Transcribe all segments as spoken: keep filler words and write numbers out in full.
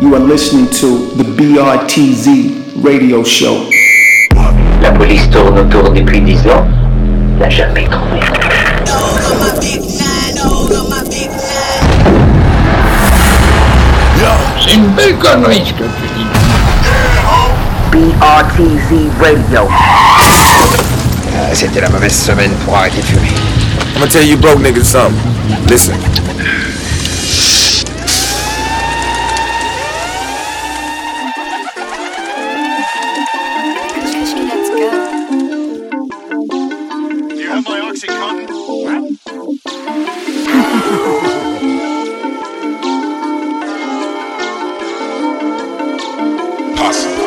You are listening to the B R T Z radio show. La police tourne autour depuis dix ans, n'a jamais trouvé. C'est une belle connerie ce que tu dis. B R T Z Radio. Euh, C'était la mauvaise semaine pour arrêter de fumer. I'm gonna tell you broke niggas something. Listen. Do you have my Oxycontin? Possible.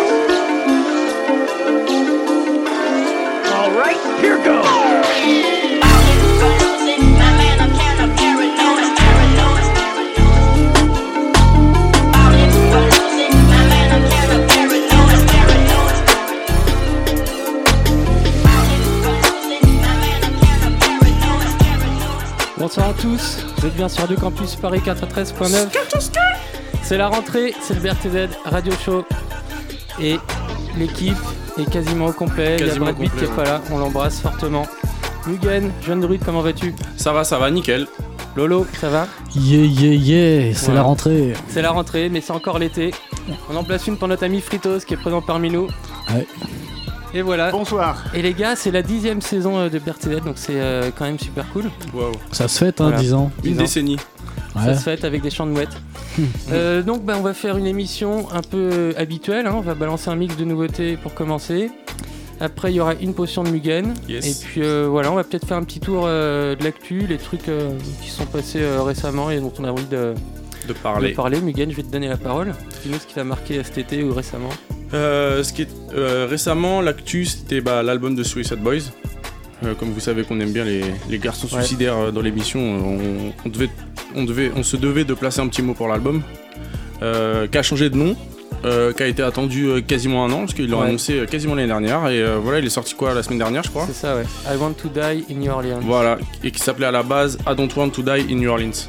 All right, here goes. Bonsoir à tous, vous êtes bien sur Radio Campus Paris quatre-vingt-treize point neuf. C'est la rentrée, c'est le B R T Z Radio Show. Et l'équipe est quasiment au complet. Il y a Brad Pitt qui est pas là, on l'embrasse fortement. Mugen, jeune druide, comment vas-tu? Ça va, ça va, nickel. Lolo, ça va? Yeah, yeah, yeah, c'est Voilà. la rentrée. C'est la rentrée, mais c'est encore l'été. On en place une pour notre ami Fritos qui est présent parmi nous. Ouais. Et voilà. Bonsoir. Et les gars, c'est la dixième saison euh, de B R T Z, donc c'est euh, quand même super cool. Wow. Ça se fête, hein, Voilà. dix ans. Une Dix ans. décennie. Ouais. Ça se fête avec des chants de mouettes. euh, donc bah, on va faire une émission un peu habituelle, hein. On va balancer un mix de nouveautés pour commencer. Après il y aura une potion de Mugen. Yes. Et puis euh, voilà, on va peut-être faire un petit tour euh, de l'actu, les trucs euh, qui sont passés euh, récemment et dont on a envie de, De parler. de parler. Mugen, je vais te donner la parole. Dis-nous ce qui t'a marqué cet été ou récemment. Euh, ce qui est, euh, récemment, l'actu, c'était bah, l'album de Suicide Boys. Euh, comme vous savez qu'on aime bien les, les garçons Ouais. suicidaires euh, dans l'émission, euh, on, on, devait, on, devait, on se devait de placer un petit mot pour l'album. Euh, qui a changé de nom, euh, qui a été attendu euh, quasiment un an, parce qu'ils l'ont Ouais. annoncé euh, quasiment l'année dernière. Et euh, voilà, il est sorti quoi la semaine dernière, je crois. C'est ça, ouais. I Want to Die in New Orleans. Voilà, et qui s'appelait à la base I Don't Want to Die in New Orleans.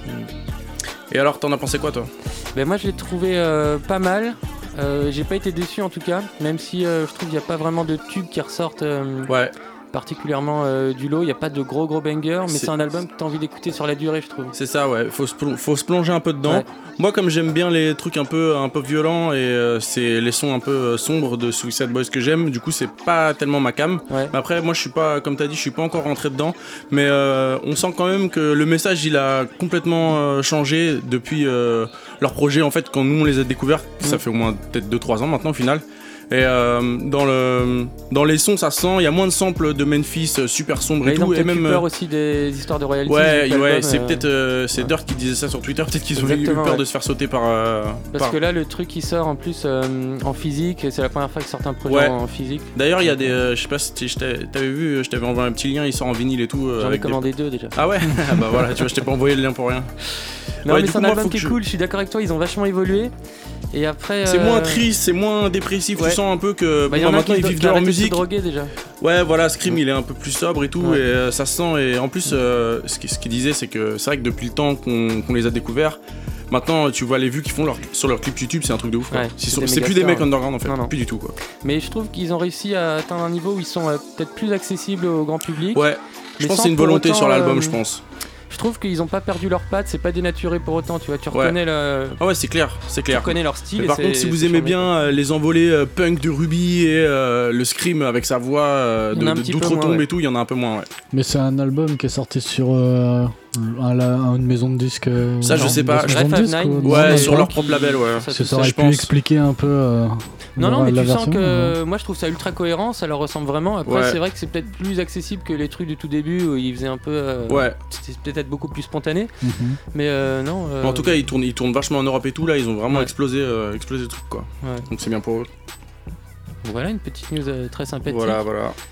Et alors, t'en as pensé quoi, toi? Ben moi je l'ai trouvé euh, pas mal. Euh, j'ai pas été déçu en tout cas, même si euh, je trouve qu'il n'y a pas vraiment de tubes qui ressortent euh, Ouais. particulièrement euh, du lot. Il n'y a pas de gros gros bangers, mais C'est- c'est un album que tu as envie d'écouter sur la durée, je trouve. C'est ça, ouais, faut se, plon- faut se plonger un peu dedans. Ouais. Moi, comme j'aime bien les trucs un peu, un peu violents et euh, c'est les sons un peu euh, sombres de Suicide Boys que j'aime, du coup, c'est pas tellement ma cam. Ouais. Mais après, moi, je suis pas, comme t'as dit, je suis pas encore rentré dedans, mais euh, on sent quand même que le message, il a complètement euh, changé depuis euh, leur projet, en fait, quand nous, on les a découverts, ça Mm. fait au moins peut-être deux trois ans maintenant, au final. Et euh, dans, le, dans les sons, ça sent, il y a moins de samples de Memphis euh, super sombres Mais et ils ont tout, et peut-être eu même... peur aussi des histoires de royalties. Ouais, de ouais, l'album, c'est euh, peut-être euh, c'est ouais. Dirt qui disait ça sur Twitter, peut-être qu'ils ont eu Exactement, peur ouais. de se faire sauter par. euh, Parce par- que là, le truc qui sort en plus euh, en physique, c'est la première fois qu'ils sortent un projet Ouais. en physique. D'ailleurs, il y a des. euh, je sais pas si t'es- je t'ai- t'avais vu, je t'avais envoyé un petit lien, il sort en vinyle et tout. euh, J'en ai avec des- commandé deux déjà. Ah ouais. Ah bah voilà, tu vois, je t'ai pas envoyé le lien pour rien. Non, Ouais, mais du c'est un coup, moi, album faut qui est que je- cool, je suis d'accord avec toi, ils ont vachement évolué. Et après. C'est euh, moins triste, c'est moins dépressif. ouais. Tu sens un peu que Bah, il y bon, en a maintenant qui ils do- vivent qui de leur arrêtent de se musique. droguer déjà. Ouais, voilà, Scream il est un peu plus sobre et tout, Ouais. et euh, ça se sent. Et en plus, euh, ce qu'il ce qu'il disait, c'est que c'est vrai que depuis le temps qu'on qu'on les a découverts, maintenant tu vois les vues qu'ils font leur- sur leurs clips YouTube, c'est un truc de ouf. quoi. Ouais, C'est c'est sur- des c'est plus des mégastars, mecs underground en fait, Non, non. plus du tout quoi. Mais je trouve qu'ils ont réussi à atteindre un niveau où ils sont euh, peut-être plus accessibles au grand public. Ouais, je Mais pense que sans c'est une pour volonté autant, sur l'album, euh, je pense. Je trouve qu'ils ont pas perdu leurs pattes, c'est pas dénaturé pour autant, tu vois, tu Ouais. reconnais, le... Ah ouais, c'est clair, c'est tu clair. reconnais leur style. Mais et par c'est- contre, si vous c'est aimez charmé, bien euh, les envolées euh, punk de Ruby et euh, le scream avec sa voix euh, Il y en a un de- de- petit peu d'outre-tombe moins, ouais. et tout, il y en a un peu moins, ouais. Mais c'est un album qui est sorti sur euh, un, la- une maison de disques. euh, Ça, je genre sais une pas. maison Red de Five disques, Nine, ou- Ouais, non, sur non, leur qui- propre label, ouais. ça, Ça, ça, aurait je pu pense. expliquer un peu. euh, Non, non, leur- mais la tu sens version, que euh. moi je trouve ça ultra cohérent, ça leur ressemble vraiment. Après, Ouais. c'est vrai que c'est peut-être plus accessible que les trucs du tout début où ils faisaient un peu. euh, Ouais. C'était peut-être beaucoup plus spontané, Mhm. mais euh, non. euh, En tout cas, ils tournent, ils tournent vachement en Europe et tout, là, ils ont vraiment Ouais. explosé, euh, explosé le truc, quoi. ouais. Donc c'est bien pour eux. Voilà une petite news euh, très sympathique. Voilà, voilà.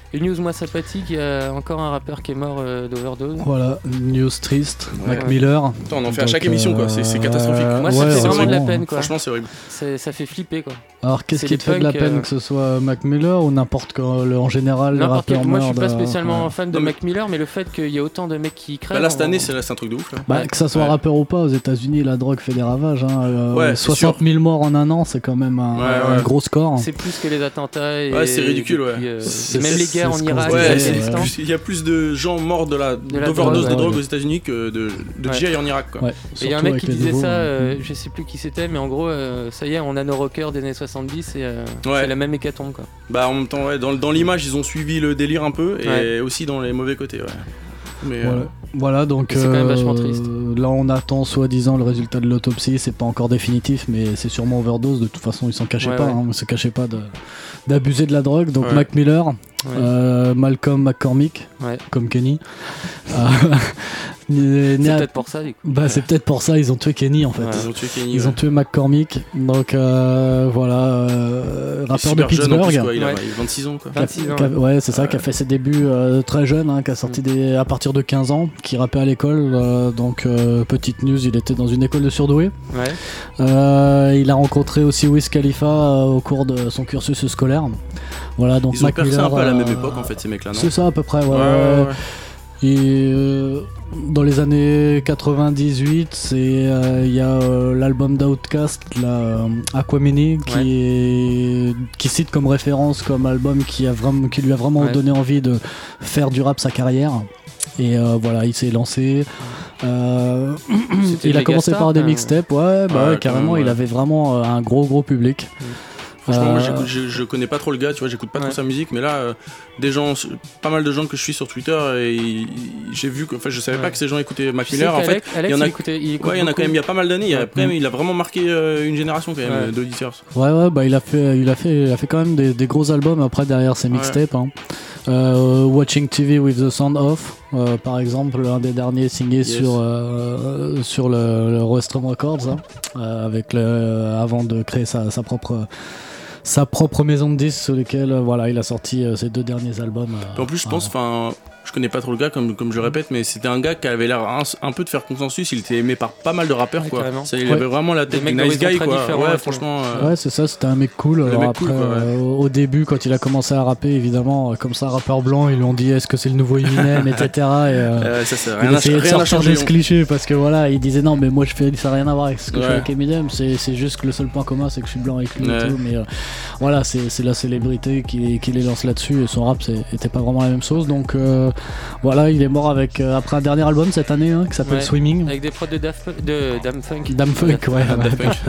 Une news moins sympathique, il y a encore un rappeur qui est mort euh, d'overdose. Voilà, news triste, Ouais. Mac Miller. Attends, on en fait à Donc, chaque émission, quoi. C'est, c'est catastrophique. euh, Moi, ça ouais, me fait vraiment de la heureusement. peine, quoi. Franchement, c'est horrible. C'est- ça fait flipper, quoi. Alors qu'est-ce C'est qui les te fait de la punks, peine euh, que ce soit Mac Miller ou n'importe quoi, le- en général les N'importe rappeurs quel. Moi, je suis pas meurent de- spécialement ouais. fan de Non, mais- Mac Miller, mais le fait qu'il y ait autant de mecs qui crèvent. Bah là, cette on- année, c'est, là, c'est un truc de ouf. Là. Bah, que ça soit Ouais. rappeur ou pas, aux États-Unis, la drogue fait des ravages. Hein. Euh, Ouais, c'est soixante mille morts en un an, c'est quand même un, Ouais, un ouais. gros score. C'est plus que les attentats. Et Ouais, c'est ridicule, depuis, ouais. euh, C'est- même les c'est guerres ce en qu'on Irak, se Ouais, disait, c'est l'Afghanistan. plus- il y a plus de gens morts de la, la d'overdose drogue, de drogue ouais. aux États-Unis que de, de Ouais. G I en Irak, quoi. Ouais, Et il y a un surtout mec avec qui les disait nouveaux, ça, euh, hein. je sais plus qui c'était, mais en gros, euh, ça y est, on a nos rockers des années soixante-dix et euh, Ouais. c'est la même hécatombe, quoi. Bah en même temps, ouais, dans, dans l'image, ils ont suivi le délire un peu et Ouais. aussi dans les mauvais côtés, ouais. Mais Voilà, euh, voilà donc C'est quand même euh, vachement triste. là on attend soi-disant le résultat de l'autopsie, c'est pas encore définitif mais c'est sûrement overdose, de toute façon ils s'en cachaient Ouais, pas, ouais. hein, ils se cachaient pas de- d'abuser de la drogue, donc Ouais. Mac Miller, Ouais. euh, Malcolm McCormick, Ouais. comme Kenny. Euh, né- né C'est à- peut-être pour ça, du coup. Bah c'est peut-être pour ça ils ont tué Kenny en fait. Ouais. ils ont tué Kenny. Ils ouais. ont tué McCormick, donc euh, voilà, euh, Il est rappeur de super jeune en Pittsburgh. plus, quoi. Il a Ouais. il a vingt-six ans, quoi. Qui a- vingt-six ans, qui a- ouais. ouais, c'est ça, Ouais. qui a fait ses débuts euh, très jeune, hein, qui a sorti Mm. des, à partir de quinze ans, qui rappait à l'école. euh, donc, euh, petite news, il était dans une école de surdoués. Ouais. Euh, il a rencontré aussi Wiz Khalifa euh, au cours de son cursus scolaire. Voilà, donc Ils ont Mac percé Miller, un peu à la même euh, époque, en fait, ces mecs-là, non? C'est ça, à peu près, ouais. Ouais, ouais, ouais, ouais. ouais. Et euh, dans les années quatre-vingt-dix-huit, c'est euh, il y a euh, l'album d'Outkast, là, euh, Aquamini, qui Ouais. est qui cite comme référence comme album qui a vraiment qui lui a vraiment Ouais. donné envie de faire du rap sa carrière. Et euh, voilà, il s'est lancé. Euh, C'était il a méga commencé star, par des quand même. mixtapes, ouais, bah Ouais, ouais, carrément. quand même, Il ouais. avait vraiment euh, un gros gros public. Franchement, moi, Euh, j'écoute- je, je connais pas trop le gars, tu vois, j'écoute pas Ouais. trop sa musique, mais là, euh, des gens, pas mal de gens que je suis sur Twitter, et ils- j'ai vu que, enfin, je savais Ouais. pas que ces gens écoutaient Mac Tu sais Miller. En fait, qu'Alex- Alex, il y en a- il écoutait- il écoute ouais, il y en a quand beaucoup. même, il y a pas mal d'années. Il, a, Ouais. après, il a vraiment marqué euh, une génération quand même Ouais. euh, d'auditeurs. Ouais, ouais, bah il a fait, il a fait, il a fait quand même des, des gros albums après derrière ses Ouais. mixtapes. Hein. Euh, Watching T V with the Sound Off, euh, par exemple, un des derniers signés Yes. sur euh, sur le, le Rostrum Records, hein, euh, avec le, avant de créer sa, sa propre sa propre maison de disques sur lesquels euh, voilà, il a sorti euh, ses deux derniers albums. euh, En plus, je euh, pense, enfin, je connais pas trop le gars, comme, comme je répète, mais c'était un gars qui avait l'air un, un peu de faire consensus. Il était aimé par pas mal de rappeurs, Ouais, quoi. carrément. Ça, il Ouais. avait vraiment la tête Des du mecs nice guy, d'horizons très quoi. différents et Ouais, tout. franchement. euh, Ouais, c'est ça, c'était un mec cool. Le Alors mec après, cool, quoi, ouais. euh, au au début, quand il a commencé à rapper, évidemment, euh, comme ça, rappeur blanc, ils lui ont dit est-ce que c'est le nouveau Eminem, et cetera. Et, euh, euh, ça, ça, il rien n'a essayait de rien n'a sortir changé. de ce cliché parce que voilà, il disait non, mais moi je fais ça n'a rien à voir avec ce que je fais Ouais. avec Eminem, c'est, c'est juste que le seul point commun c'est que je suis blanc avec lui Ouais. et tout. Mais euh, voilà, c'est, c'est la célébrité qui, qui les lance là-dessus et son rap c'est, était pas vraiment la même chose. Donc euh, voilà, il est mort avec euh, après un dernier album cette année hein, qui s'appelle Ouais. Swimming. Avec des prods de Daft Punk- de Dame Funk. Dame Funk, ouais. Ah, Daft Punk.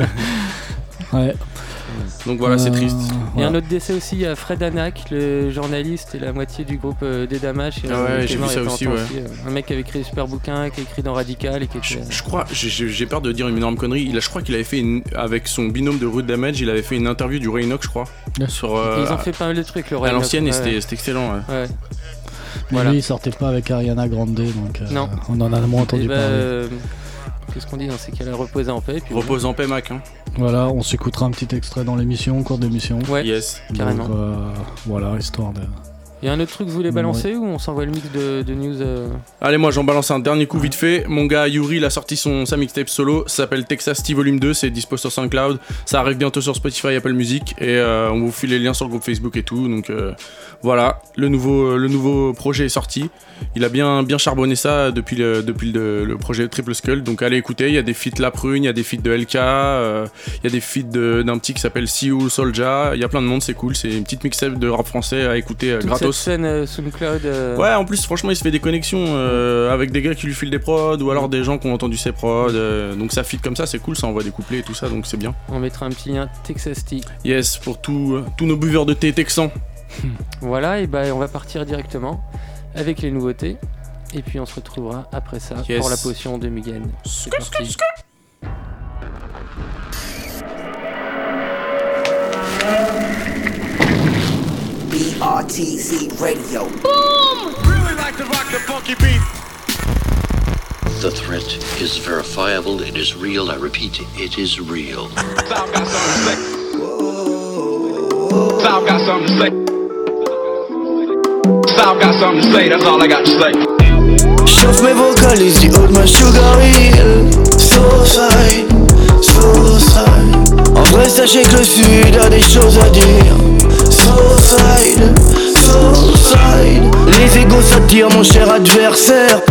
ouais. Donc voilà, c'est Euh, triste. Il y a voilà. un autre décès aussi, il y a Fred Anak, le journaliste et la moitié du groupe euh, des Damash. Ah ouais, j'ai vu ça aussi, ouais. Un mec qui avait écrit des super bouquins, qui a écrit dans Radical et qui Je, était... je crois, j'ai- j'ai j'ai peur de dire une énorme connerie. Il a, je crois qu'il avait fait une, avec son binôme de Rude Damage, il avait fait une interview du Ray Enoch, je crois, Ouais. sur euh, Et ils ont fait pas mal de trucs, le à Ray l'ancienne et Enoch, c'était ouais. c'était excellent. Ouais. Ouais. Mais Voilà. lui il sortait pas avec Ariana Grande donc euh, Non. on en a moins entendu Et bah, parler. euh, qu'est-ce qu'on dit dans ces cas-là, reposer en paix. Et puis Repose en paix, Mac. Hein. Voilà, on s'écoutera un petit extrait dans l'émission, au cours d'émission. Ouais, Yes. carrément. Donc, euh, voilà, histoire de. Il y a un autre truc que vous voulez balancer ou on s'envoie le mix de, de news euh... Allez, moi j'en balance un dernier coup vite fait. Mon gars Yuri, il a sorti son, sa mixtape solo. Ça s'appelle Texas T Volume deux. C'est dispo sur SoundCloud. Ça arrive bientôt sur Spotify, Apple Music. Et euh, on vous file les liens sur le groupe Facebook et tout. Donc euh, voilà, le nouveau, le nouveau projet est sorti. Il a bien, bien charbonné ça depuis le, depuis le, le projet Triple Skull. Donc allez écouter. Il y a des feats La Prune, il y a des feats de L K. euh, Il y a des feats de- d'un petit qui s'appelle Sioux Soldier. Il y a plein de monde, c'est cool. C'est une petite mixtape de rap français à écouter euh, toute gratos. cette scène euh, SoundCloud. euh, Ouais, en plus, franchement, il se fait des connexions euh, avec des gars qui lui filent des prods ou alors des gens qui ont entendu ses prods. euh, donc ça fit comme ça, c'est cool, ça envoie des couplets et tout ça, donc c'est bien. On mettra un petit lien Texas T. Yes, pour tout, euh, tous nos buveurs de thé texans. Voilà, et bah on va partir directement avec les nouveautés. Et puis on se retrouvera après ça Yes. pour la potion de Mugen. C'est parti. B R T Z Radio. Really like to rock the funky beat. The threat is verifiable, it is real, I repeat, it is real. Sound got something to say. Sound got something to say. South got something to say, that's all I got to say. Chauffe mes vocalises du haut de ma sugar hill. Suicide, suicide. En vrai sachez que le sud a des choses à dire. Suicide, suicide. Les égos s'attirent mon cher adversaire.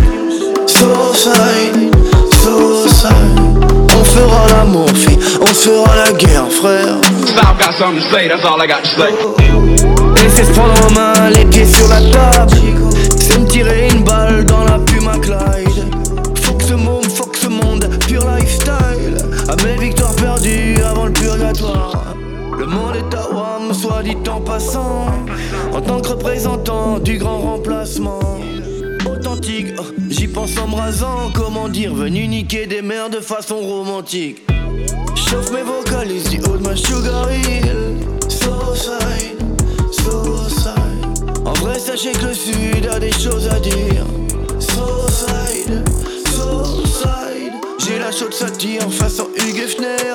Suicide, suicide. On fera l'amour fille, on se fera la guerre frère. South got something to say, that's all I got to say. Laissez se prendre en main, les pieds sur la table. C'est me tirer une balle dans la Puma Clyde. Faut que ce monde, faut que ce monde, pur lifestyle. À mes victoires perdues avant le purgatoire. Le monde est à Wam, soit dit en passant. En tant que représentant du grand remplacement. Authentique, oh, j'y pense en me rasant. Comment dire, venu niquer des mères de façon romantique. Chauffe mes vocalises du haut de ma sugar hill. Suicide, suicide. En vrai sachez que le sud a des choses à dire. Suicide, suicide. J'ai la chaude satire façon Hugues Hefner.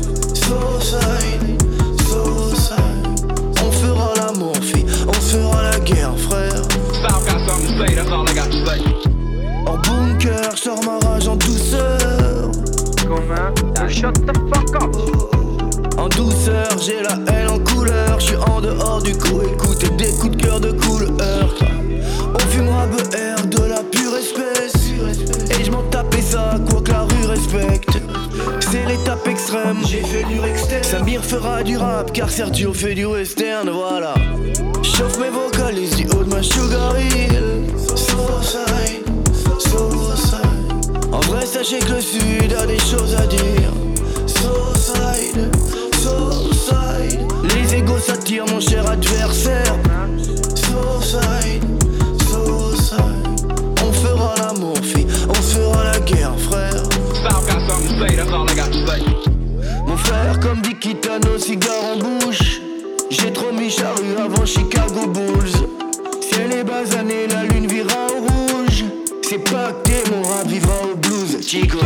Suicide, suicide. On fera l'amour fille, on fera la guerre frère. South got something to say, that's all I got to say. En bunker, j'sors ma rage en douceur. Comment? Shut the fuck up. En douceur, j'ai la haine en couleur. J'suis en dehors du coup, écoutez des coups de cœur de couleur. On fumera B R de la pure espèce. Et j'm'en tapais ça, quoi que la rue respecte. C'est l'étape extrême, j'ai fait du externe. Samir fera du rap, car Sergio fait du western, voilà. Chauffe mes vocalises du haut de ma sugar hill. Suicide, suicide. En vrai sachez que le sud a des choses à dire. Suicide, suicide. Les égos s'attirent mon cher adversaire. Suicide, suicide. On fera l'amour fille, on se fera la guerre frère. South got something to say, that's all I got to say. Mon frère comme dit Kitano, cigare en bouche. J'ai trop mis charrue avant Chicago Bulls. Ciel est basané, la lune vira au rouge. C'est pacté, mon rap vivra au blues, Chico.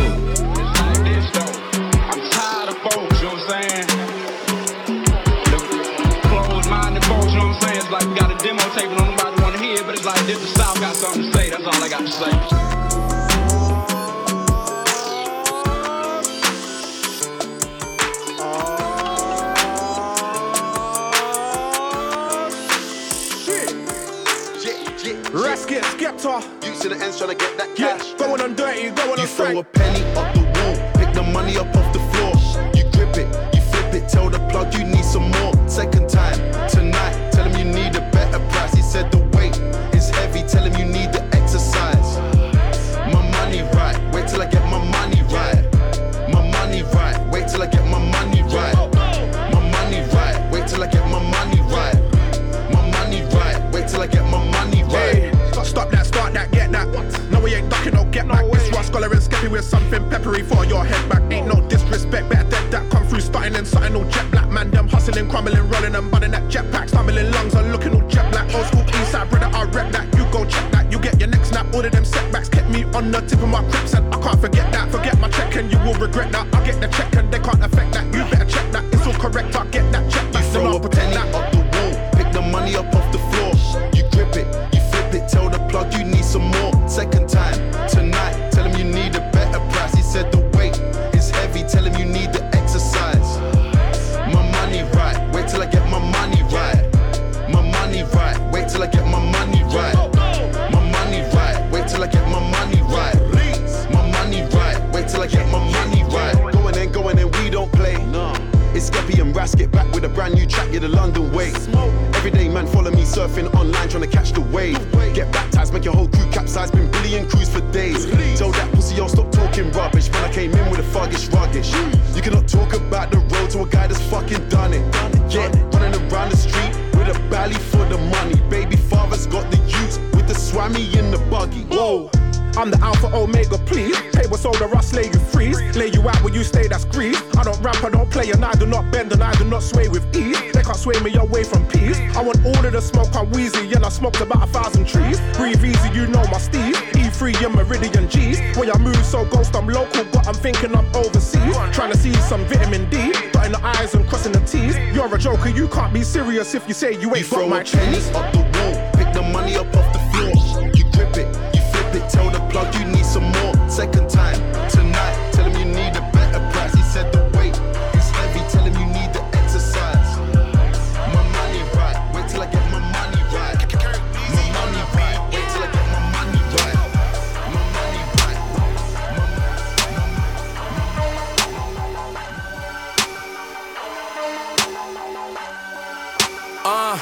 Like got a demo tape and nobody wanna hear it, but it's like this, the South got something to say, that's all I got to say. Rasket, Skepta. You to the ends trying to get that cash. Yeah, going on dirty, going you on straight. You throw a penny up the wall, pick the money up off the floor. You grip it, you flip it, tell the plug you need some more. Second time, tonight, tell him you need a better price. He said the weight is heavy, tell him you need the exercise. My money right, wait till I get my money right. My money right, wait till I get my money right. My money right, wait till I get my money right. My money right, wait till I get my money right. Stop that, start that, get that. No, we ain't ducking, no get back. This Ross Scholar and Skeppy with something peppery for your head back. Ain't no disrespect, better dead that come through, starting and something all jet black. Man, them hustling, crumbling, rolling and bunning that jetpack, stumbling lungs and looking all jet black. Old school Eastside brother, I rep that. You go check that, you get your next snap. All of them setbacks kept me on the tip of my crips, and I can't forget that. Forget my check and you will regret that. I get the check and they can't affect that. You better check that, it's all correct. I get that check back. You throw a penny up the wall, pick the money up off the floor. You grip it, you flip it, tell the plug you need some more. Second time, tonight, tell him you need a better price. He said the weight is heavy, tell him you need the exercise. My money right, wait till I get my money right. My money right, wait till I get my money right. My money right, wait till I get my money right. My money right, wait till I get my money right. Going in, going in, we don't play. It's Skeppy and Rasket back with a brand new track, yeah, the London way. Everyday man follow me surfing online trying to catch the wave. Get baptized, make your whole crew capsize, been billion crews for days. Tell that pussy yo stop talking rubbish, man I came in with a thuggish ruggish. You cannot talk about the road to a guy that's fucking done it. Yeah, running around the street with a belly for the money. Baby father's got the youths with the swammy in the buggy. Whoa, I'm the Alpha Omega, please. Pay what's all the rust, lay you freeze. Lay you out where you stay, that's grease. I don't rap, I don't play, and I do not bend, and I do not sway with ease. They can't sway me away from peace. I want all of the smoke, I'm wheezy, and I smoked about a thousand trees. Breathe easy, you know my steez. E three and Meridian G's. Way I move so ghost, I'm local, but I'm thinking I'm overseas. Trying to see some vitamin D, dotting the I's and crossing the T's. You're a joker, you can't be serious if you say you ain't you got my cheese. Up the wall, pick the the money up off the floor. You grip it, you flip it, tell the plug you need some more. Second time, tonight, tell him you need a better price. He said the weight is heavy, tell him you need the exercise. My money right, wait till I get my money right. My money right, wait till I get my money right. My money right. Uh,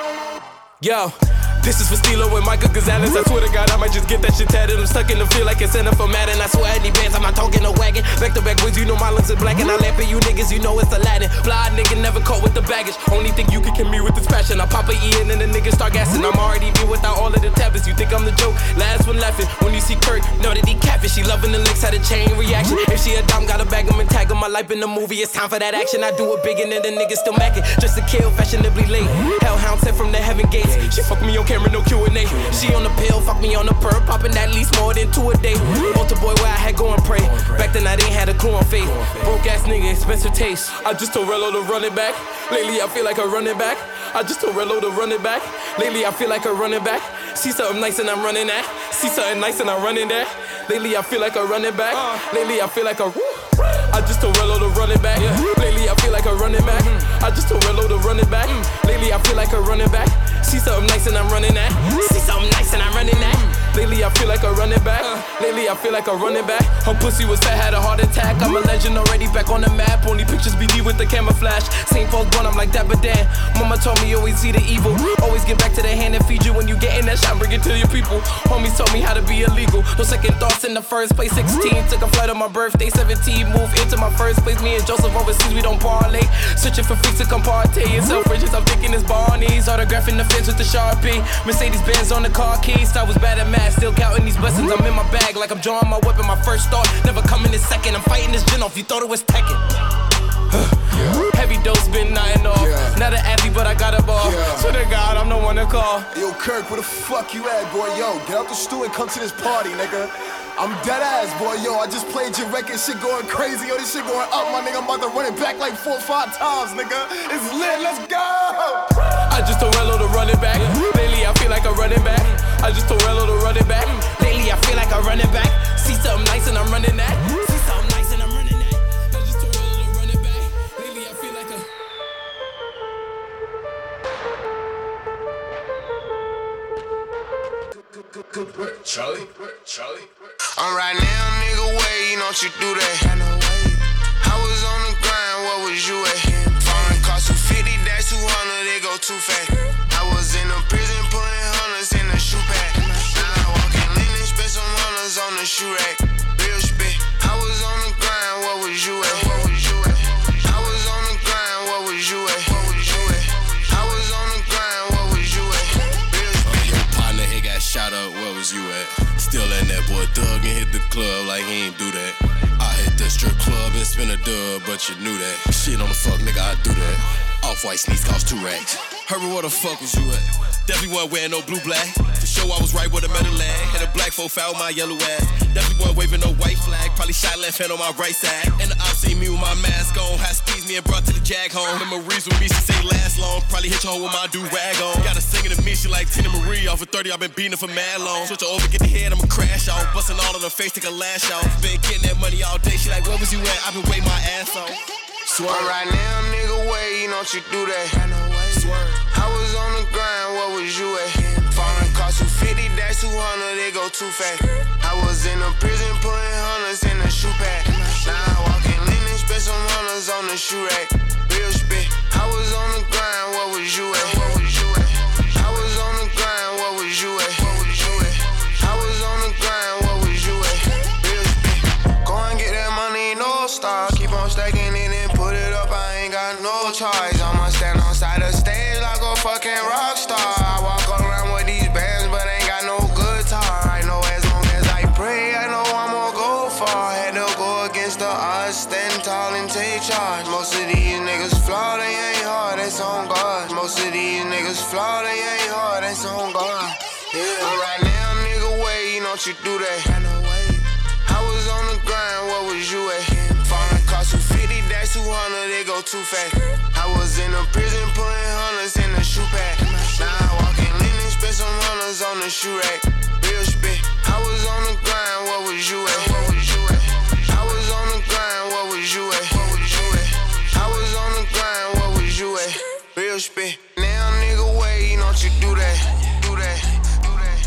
yo. This is for Stilo and Michael Gonzalez. I swear to God, I might just get that shit tatted. I'm stuck in the feel like it's in for Madden. I swear any bands, I'm not talking no wagon. Back to back wins, you know my lungs are black. And I laugh at you niggas, you know it's Aladdin. Fly nigga never caught with the baggage. Only thing you can kill me with this passion. I pop a E in and the niggas start gassing. I'm already me without all of the tablets. You think I'm the joke? Last one laughing. When you see Kurt, know that he capping. She loving the licks, had a chain reaction. If she a dumb, gotta bag him and tag him. My life in the movie, it's time for that action. I do it big and then the niggas still macking. Just to kill, fashionably late. Hellhound sent from the heaven gates. She fuck me on camera, no Q and A. She on the pill, fuck me on the perp, popping at least more than two a day. Altar boy where I had go and pray. Back then I didn't have a clue on faith. Broke ass nigga, expensive taste. I just told Rello to run it back. Lately I feel like a running back. I just told Rello to run it back. Lately I feel like a running back. See something nice and I'm running that. See something nice and I'm running that. Lately I feel like a running back. Lately I feel like a. I just told Rello to run it back. Lately I feel like a running back. I just told Rello to run it back. Lately I feel like a running back. See something nice and I'm running that. See something nice and I'm running that. Lately I feel like a running back. Lately I feel like a running back. Her pussy was fat, had a heart attack. I'm a legend already back on the map. Only pictures B D with the camouflage. Saint Paul's born, I'm like Dapper Dan. Mama told me always see the evil. Always get back to the hand and feed you. When you get in that shot, bring it to your people. Homies told me how to be illegal. No second thoughts in the first place. sixteen, took a flight on my birthday. seventeen, moved into my first place. Me and Joseph overseas, we don't parlay. Searching for freaks to come partay. In Selfridges, I'm thinking it's Barney's. Autographing the fence with the Sharpie. Mercedes Benz on the car keys. I was bad at math, still counting these blessings. I'm in my bag like I'm drawing my weapon. My first thought, never coming in second. I'm fighting this gin off, you thought it was Tekken. Yeah. Heavy dose, been nothing off. Yeah. Not an athlete, but I got a ball. Yeah. Swear to God, I'm the one to call. Yo, Kirk, where the fuck you at, boy? Yo, get out the stew and come to this party, nigga. I'm dead ass, boy. Yo, I just played your record, shit going crazy. Yo, this shit going up, my nigga. I'm about to run it back like four or five times, nigga. It's lit, let's go! I just told Rello to run it back. Lately, I feel like I'm running back. I just told Rello to run it back. Lately, I feel like I'm running back. See something nice and I'm running that. See something nice and I'm running that. I just told Rello to run it back. Lately, I feel like a. Good, good work, Charlie. Work, Charlie. I'm right now, nigga, wait, don't you do that. I was on the grind, what was you at? Foreign cost two fifty, that's two hundred, they go too fast. I was in a prison putting hundreds in the shoe pack. Now I walk in Linen, spend some hundreds on the shoe rack. Real spit. I was on the grind, what was you at? What was you at? I was on the grind, what was you at? What was you at? I was on the grind, what was you at? Real spit. Your partner, he got shot up, where was you at? Still letting that boy thug and hit the club like he ain't do that. I hit the strip club and spin a dub, but you knew that. Shit on the fuck, nigga, I do that. Off-white sneaks cost two racks. Herbert, where the fuck was you at? Definitely wasn't wearing no blue black. For sure I was right with a metal lag. Had a black folk foul my yellow ass. Definitely wasn't waving no white flag. Probably shot left hand on my right side. And the op seen me with my mask on. High speeds me and brought to the jag home. Memories with me, she say last long. Probably hit your hoe with my do-rag on. Got her singing to me, she like Tina Marie. Off of thirty, I've been beating her for mad long. Switch her over, get the head, I'ma crash off. Busting all on her face, take a lash off. Been getting that money all day. She like, where was you at? I've been waiting my ass off. Swear. Right now, nigga, wait, don't you do that. Swear. I was on the grind, what was you at? Foreign cost two fifty, that's two hundred, they go too fast. I was in a prison putting hundreds in the shoe pack. Now I walk in Linen, spend some hundreds on the shoe rack. Real spit. I was on the grind, what was you at? What was you at? I was on the grind, what was you at? What was you at? I was on the grind, what was you at? Real spit. Go and get that money, no stop. Keep on stacking it and put it up, I ain't got no choice. I'ma stand on side of stage like a fucking rock star. I walk around with these bands, but ain't got no guitar. I know as long as I pray, I know I'ma go far. Had to go against the odds, stand tall and take charge. Most of these niggas flaw, they ain't hard, that's on God. Most of these niggas flaw, they ain't hard, that's on God. Yeah. Right now, nigga, wait, don't you do that. I was on the grind, what was you at? Foreign cost two fifty, that's two hundred, they go too fast. I was in a prison putting hundreds in the shoe pack. Now I walk in Linen, spend some hunters on the shoe rack. Real spit. I was on the grind, what was you at? What was you at? I was on the grind, what was you at? What was you at? I was on the grind, what was you at? Real spit. Now nigga wait, don't you do that? Do that. Do that.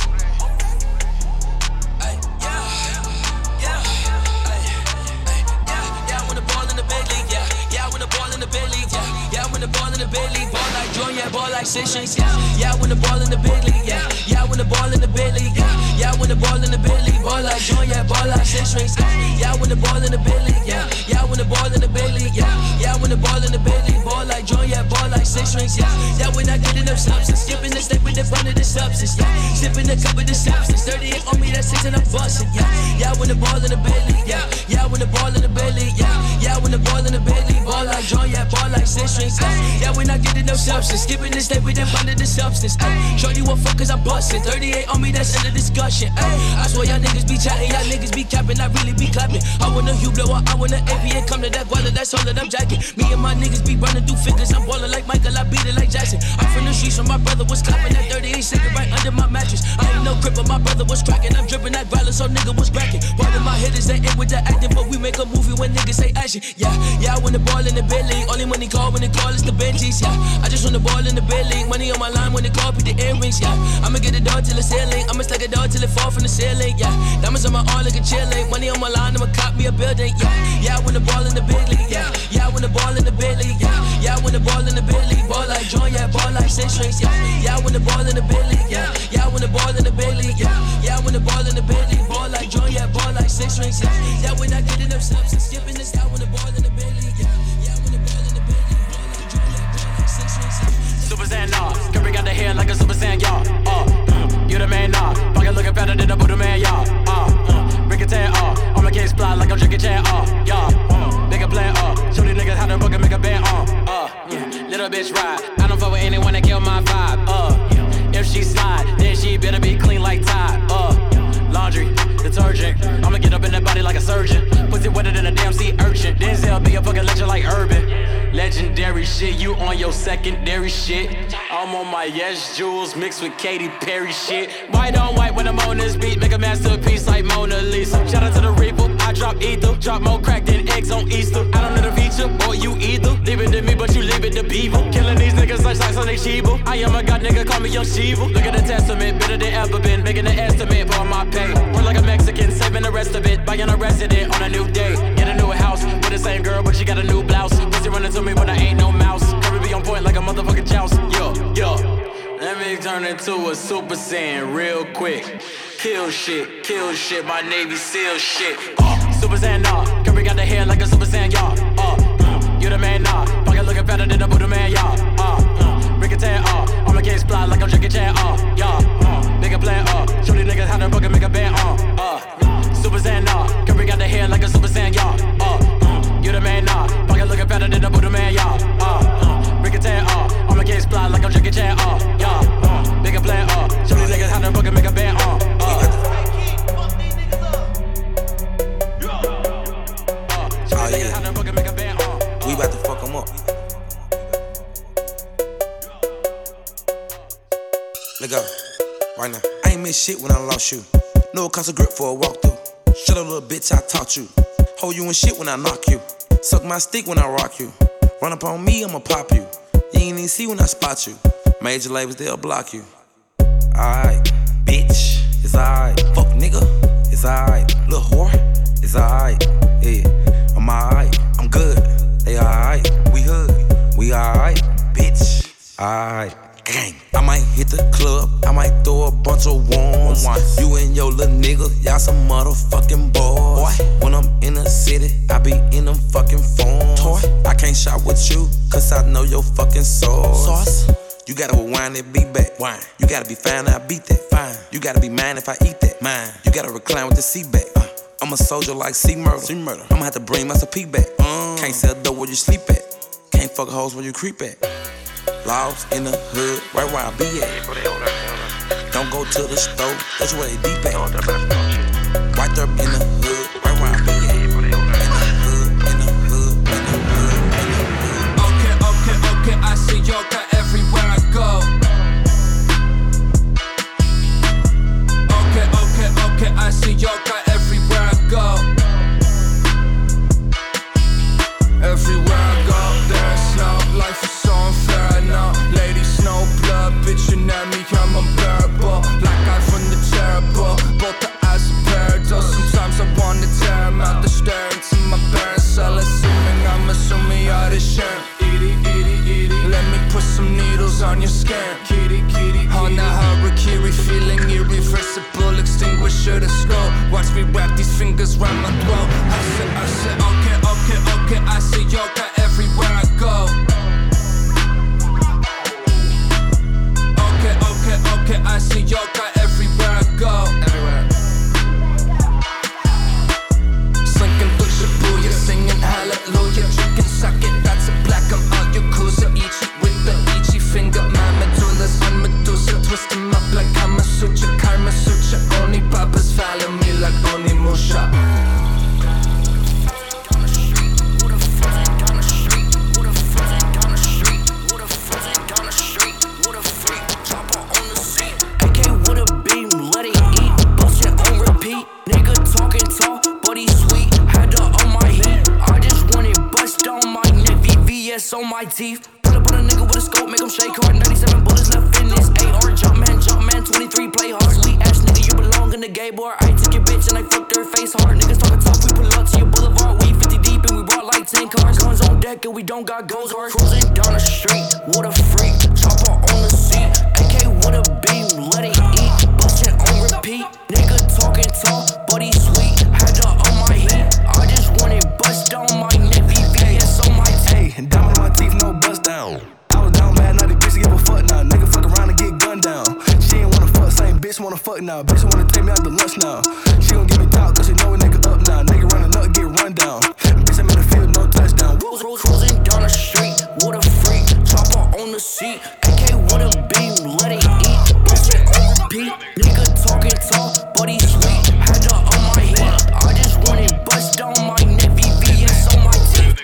Ay, yeah, yeah, ay, ay, yeah, yeah. When the ball in the big league, yeah, yeah. When the ball in the big league, yeah, yeah. When the ball in the big league, ball like Jordan, yeah, ball like six strings, yeah, yeah. When the ball in the big league, yeah, yeah. When the ball in the big league, yeah, yeah. When the ball in the big league, ball like Jordan, yeah, ball like six strings, yeah, yeah. When the ball in the big league, yeah, yeah. When the ball in the big league, yeah, yeah. When the ball in the big league, ball like Jordan, yeah, ball like six strings, yeah, yeah. When I get enough substance, skipping the step with the front of the substance, yeah, sipping the cup of the substance, thirty-eight on me, that's six and I'm busting, yeah, yeah. When the ball in the big league, yeah, yeah. When the ball in the big league, yeah, yeah. When the ball in the big league, ball like Jordan, yeah, ball like six strings, yeah, yeah. When I get enough substance, skipping the step with the front of the substance, ayy. Shorty what fuckers I'm busting, thirty-eight on me, that's end of discussion, ayy. I swear y'all niggas be chatting, y'all niggas be capping, I really be clapping. I want a Hublot, I want an A P and come to that guala, that's all that I'm jacking. Me and my niggas be running through figures, I'm ballin' like Michael, I beat it like Jackson. I'm from the streets, so my brother was clapping that thirty-eight second right under my mattress. I ain't no grip, but my brother was cracking. I'm dripping that guala, so nigga was cracking. Part of my hitters, they ain't with the acting, but we make a movie when niggas say action. Yeah, yeah, I win the ball in the big league. Only when they call, when they call, it's the Benjis. Yeah, I just won the ball in the big league. Money on my line when they call, beat the earrings. Yeah, I'ma get the dog till the ceiling. I'ma stack a dog till it fall from the ceiling. Yeah, diamonds on my arm like a chilling. Money on my line, I'ma cop me a building. Yeah, yeah, I win the ball in the big league. Yeah, yeah, I win the ball in the big league. Yeah, yeah, I win the ball in the big league. Ball like Jordan, yeah, ball like six strings. Yeah, yeah, I win the ball in the big league. Yeah, yeah, I win the ball in the big league. Yeah, yeah, I win the ball in the big league. Ball like Jordan, yeah, ball like six strings. Yeah, yeah, when I get enough substance, skipping this, I win the ball in the big league. Yeah, yeah, I win the ball in the big league. Ball like Jordan, yeah, ball like six strings. Super Saiyan, nah. Curry got the hair like a Super Saiyan, y'all. Uh, mm, you the man, nah. Pocket looking better than a Buddha man, y'all. Uh, uh, Rick and Tan, uh. On my case fly like I'm drinking Chan, uh. Y'all, uh. Nigga plan, uh. Show these niggas how to book and make a band, uh. Uh, yeah. Little bitch ride. I don't fuck with anyone that kill my vibe, uh. If she slide, then she better be clean like Tide, uh. Laundry, detergent. I'ma get up in that body like a surgeon. Pussy wetter than a damn sea urchin. Denzel be a fucking legend like Urban. Legendary shit, you on your secondary shit. I'm on my Yes Jules mixed with Katy Perry shit. White on white when I'm on this beat, make a masterpiece like Mona Lisa. Shout out to the Reaper, I drop ether. Drop more crack than eggs on Easter. I don't know the feature, or you either. Leave it to me, but you leave it to people. Killing these niggas like socks on they Shiba. I am a god nigga, call me Young Shiva. Look at the testament, better than ever been. Making an estimate for my pay. Work like a Mexican, saving the rest of it. Buying a resident on a new day. Get a new house with the same girl, but she got a new blouse. Pussy running to me, but I ain't no mouse. Curry be on point like a motherfucking joust. Yo, yo. Let me turn into a Super Saiyan real quick. Kill shit, kill shit, my Navy SEAL shit. Uh, Super Saiyan, nah. Curry got the hair like a Super Saiyan, y'all. Uh, uh, you the man, nah. Pocket looking better than a Buddha man, y'all. Uh, uh, Rick and Tan, uh. On my case fly like I'm drinking Chan, uh. Y'all, uh. Nigga plan, uh. Show these niggas how to book and make a band, uh. Uh, Super Saiyan, nah. Curry got the hair like a Super Saiyan, y'all. Uh, uh, you the man, nah. Pocket looking better than a Buddha man, y'all. Uh, uh, Rick and Tan, uh. On my case fly like I'm drinking Chan, uh. Y'all, uh. Nigga plan, uh. Show these niggas how to book and make a band, uh. Uh, Oh yeah, we about to fuck them up. Let go, right now. I ain't miss shit when I lost you. No cost of grip for a walkthrough. Shut up, little bitch, I taught you. Hold you in shit when I knock you. Suck my stick when I rock you. Run up on me, I'ma pop you. You ain't even see when I spot you. Major labels, they'll block you. Alright, bitch, it's alright. Fuck nigga, it's alright. Little whore, it's alright. Yeah, I'm alright, I'm good. They alright, we hood, we alright. Bitch, alright. Gang. I might hit the club, I might throw a bunch of ones. You and your little nigga, y'all some motherfucking boys. Boy. When I'm in the city, I be in them fucking phones. Toy. I can't shop with you, cause I know your fucking sauce. Sauce. You gotta rewind that beat back. Wine. You gotta be fine, I beat that. Fine. You gotta be mine if I eat that. Mine. You gotta recline with the seat back. Uh, I'm a soldier like C Murder. C Murder. I'ma have to bring my P back. Uh. Can't sell dope where you sleep at. Can't fuck hoes where you creep at. Lost in the hood, right where I be at. Don't go to the store, that's where they deep at. Right there in the hood, right where I be at. In the hood, in the hood, in the hood, in the hood. Okay, okay, okay, I see yoga everywhere I go. these fingers round my throat. I said, I said, okay, okay, okay. I see yoga everywhere I go. Okay, okay, okay. I see yoga everywhere I go. Everywhere. Slinking through Shibuya, singing hallelujah, drinking sake. That's a black. I'm out Yakuza, Ichi with the Ichi finger. My medulla's on Medusa, twist 'em up like I'm a suture, Karma Sutra. Only Papas follow me like Onimusha. On my teeth, put up on a nigga with a scope, make him shake hard. ninety-seven bullets left in this A R. Jump man, jump man, twenty-three play hard. Sweet ass nigga, you belong in the gay bar. I took your bitch and I fucked her face hard. Niggas talking tough, we pull up to your boulevard. We fifty deep and we brought like ten cars. Guns on deck and we don't got goals hard. Cruising down the street, what a freak. Chopper on the seat, A K with a beam, let it eat. Bustin' on repeat, nigga talking tall, but he sweet. Had to on my heat, I just wanted bust on my neck. V V S on my teeth, diamond on my teeth, no bust down. I was down bad, now the bitch give a fuck now. Nigga fuck around and get gunned down. She ain't wanna fuck, same bitch wanna fuck now. Bitch wanna take me out to lunch now. She gon' give me talk, cause she know a nigga up now. Nigga running up, get run down. Bitch, I'm in the field, no touchdown. Cruising down the street, what a freak. Chopper on the seat, A K with a beam, let it eat. Bustin' on repeat, nigga talking tall, but he sweet. Had to on my heat, I just wanted bust on my neck. V V S on my teeth.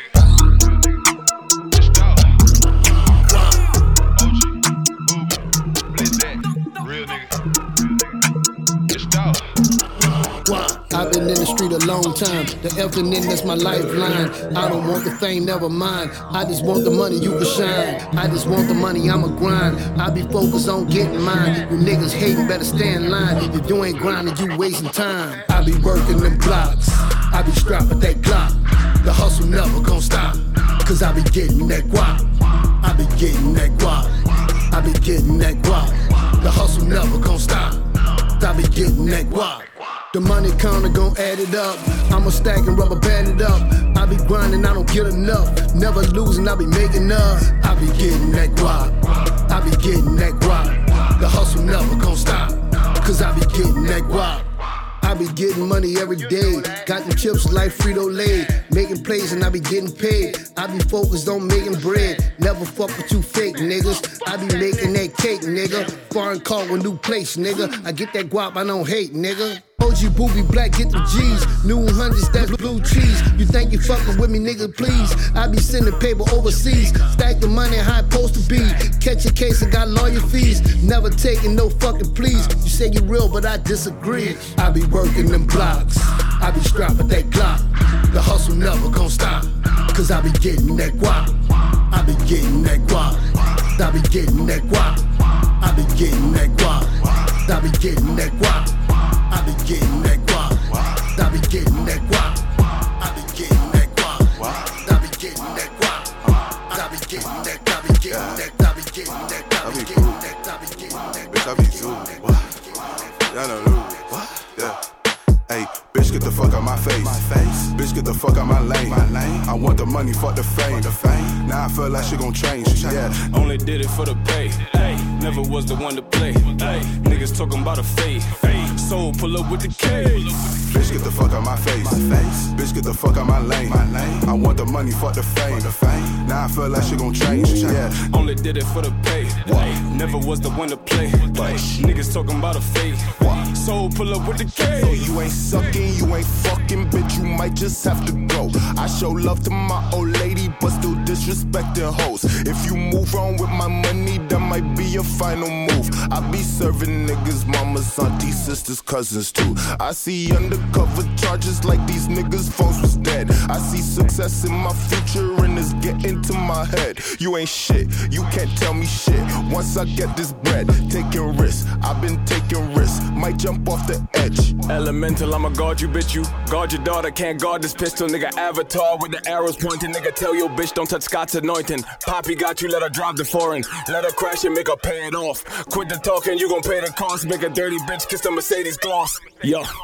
I've been in the street a long time. The effing in, that's my lifeline. I don't want the fame, never mind. I just want the money, you can shine. I just want the money, I'ma grind. I be focused on getting mine. You niggas hating, better stay in line. If you ain't grinding, you wasting time. I be working them blocks. I be strapped with that Glock. The hustle never gon' stop. Cause I be getting that guap. I be getting that guap. I be getting that guap. The hustle never gon' stop. I be getting that guap. The money counter gon' add it up. I'ma stack and rubber band it up. I be grinding, I don't get enough. Never losing, I be making up. I be getting that guap. I be getting that guap. The hustle never gon' stop. Cause I be getting that guap. I be getting money every day. Got them chips like Frito-Lay. Making plays and I be getting paid. I be focused on making bread. Never fuck with you fake niggas. I be making that cake, nigga. Foreign car with new place, nigga. I get that guap, I don't hate, nigga. O G booby black, get the G's. New hundreds, that's blue cheese. You think you fucking with me, nigga, please. I be sending paper overseas. Stack the money how it supposed to be. Catch a case and got lawyer fees. Never taking no fucking pleas. You say you real, but I disagree. I be working them blocks. I be strapped with that Glock. The hustle never gon' stop. Cause I be getting that guap. I be getting that guap. I be getting that guap. I be getting that guap. I be getting that guap. I be getting that guap. I be getting that guap. I be getting that guap. I be getting that guap. I be getting that. I be getting that. I be getting that. I be getting that. I be getting that. Bitch, I be zooming. What? Y'all know who? What? Yeah. Hey, bitch, get the fuck out my face. My face. Bitch, get the fuck out my lane. My lane. I want the money, fuck the fame. The fame. Now I feel like shit gon' change. Yeah. Only did it for the pay. Hey. Never was the one to play. Hey. Niggas talking about a fade. Hey. Soul pull up with the K. Bitch, get the fuck out my face. My face. Bitch, get the fuck out my lane. My lane. I want the money, fuck the fame. The fame. Now I feel like shit gon' change. Yeah. Only did it for the pay. Hey. Never was the one to play. Hey. Niggas talking about a fade. Hey. Soul pull up with the K. So you ain't sucking, you ain't fucking, bitch, you might just have to go. I show love to my old lady, but still disrespecting hoes. If you move on with my money, that might be your final move. I be serving niggas, mamas, aunties, sisters, cousins too. I see undercover charges like these niggas' phones was dead. I see success in my future and it's getting to my head. You ain't shit, you can't tell me shit. Once I get this bread, taking risks, I've been taking risks, might jump off the edge. Elemental, I'ma guard you, bitch, you guard your daughter, can't guard this pistol, nigga. Avatar with the arrows pointing, nigga. Tell your bitch don't touch Scott's anointing. Poppy got you, let her drive the foreign, let her crash and make her pay it off. Quit the talking, you gon' pay the cost. Make a dirty bitch kiss the Mercedes gloss. Yo,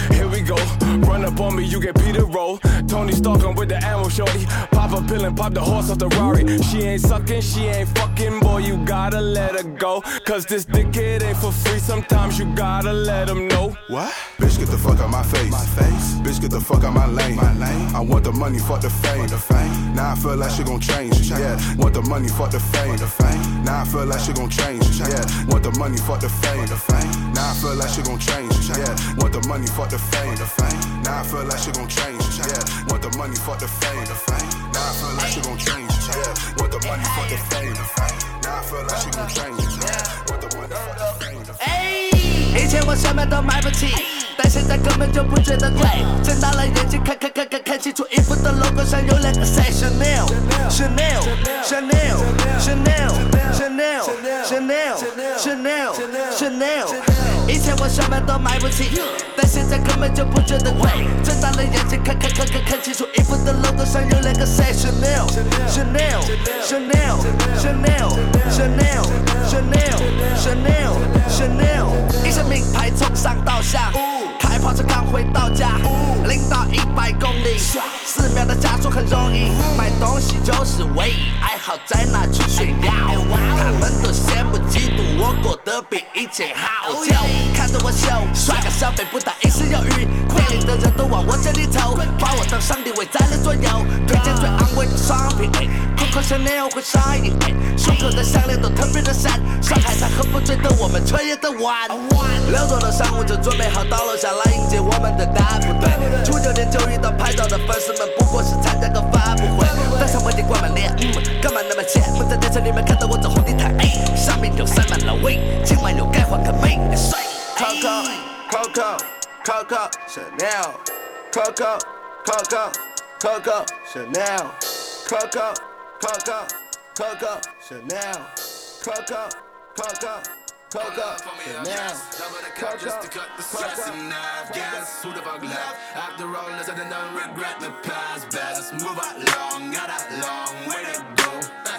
Here we go. Run up on me, you get Peter roll. Tony Stark, I'm with the ammo shorty. Pop a pill and pop the horse off the Rari. She ain't sucking, she ain't fucking, boy, you gotta let her go. Cause this dickhead ain't for free, sometimes you gotta let him know. What? Bitch, get the fuck out my face. My face. Bitch, get the fuck out my lane. My lane. I want the money, fuck the fame. The fame. Now I feel like shit gon' change. change. Yeah. Want the money, fuck the fame. The fame. Now I feel like shit gon' change. change. Yeah. Want the money, fuck the fame. The fame. Now I feel like shit gon' change. change. Yeah. Want the money, fuck the fame. The fame. Now I feel like shit gon' change. Yeah. Want the money, fuck the fame. The fame. Now I feel like shit gon' change. Yeah. Want the money, fuck the fame. The fame. Now I feel like shit gon' change. Yeah. Want the money, fuck the fame. The fame. 以前我什么都买不起，但现在根本就不觉得贵。睁大了眼睛看看看看看清楚，衣服的 logo 上有两个 say Chanel Chanel Chanel Chanel Chanel Chanel Chanel Chanel。以前我什么都买不起，但现在根本就不觉得贵。睁大了眼睛看看看看看清楚，衣服的 logo 上有两个 say Chanel Chanel Chanel Chanel Chanel Chanel Chanel Chanel。一身名牌从上到下，开跑车刚回到家，零到一百公里，四秒的加速很容易。买东西就是唯一爱好，在哪去炫耀？他们都羡慕嫉妒我过得比以前好，就看着我秀，刷个消费不但一时有余，店里的人都往我这里投，把我当上帝围在了左右，推荐最昂贵的商品。Coco Chanel 会上瘾，胸口的项链都特别的闪，上海滩喝不醉的我们彻夜的玩。六座的商务就准备好到楼下来迎接我们的大部队。出酒店就遇到拍照的粉丝们，不过是参加个发布会。戴上墨镜挂满脸，嗯，干嘛那么贱？我在电车里面看到我走红地毯，哎，上面有塞满了味，今晚又该换个美帅。Coco Coco Coco Chanel Coco Coco Coco Chanel Coco Coco Coco Chanel Coco Coco Coco Chanel Coco just to cut the stress and I've guess who the fuck left after all this I don't regret the past best move along got a long way to go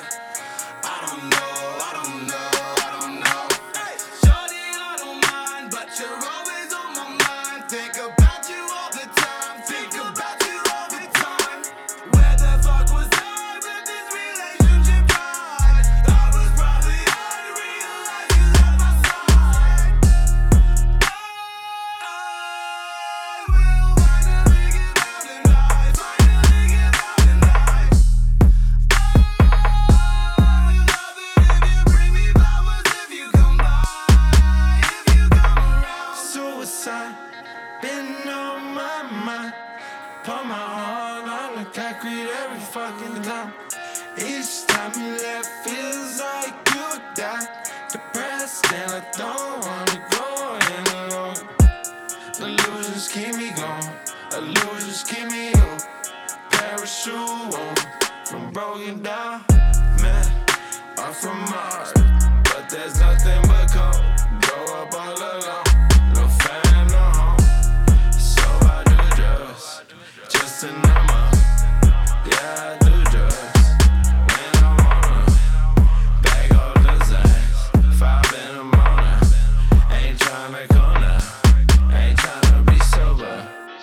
I don't know I don't know I don't know shorty I don't mind but you're always on my mind think about you all the time think about you all the time where the fuck was I with this relationship tried I was probably unrealized you left my side I will finally get out in life finally get out in life I love it if you bring me flowers if you come by if you come around Suicide been on my mind. Put my heart on the concrete every fucking time. Each time you left feels like you died. Depressed and I don't wanna go in alone. Illusions keep me going. Illusions keep me up. Parachute on from broken down man. I'm from Mars, but there's nothing but cold. Grow up all alone. No fan, no home. So I do drugs just to numb up. Yeah, I do drugs when I wanna. Bag all the Zans, five in the morning. Ain't tryna go now, ain't tryna be sober.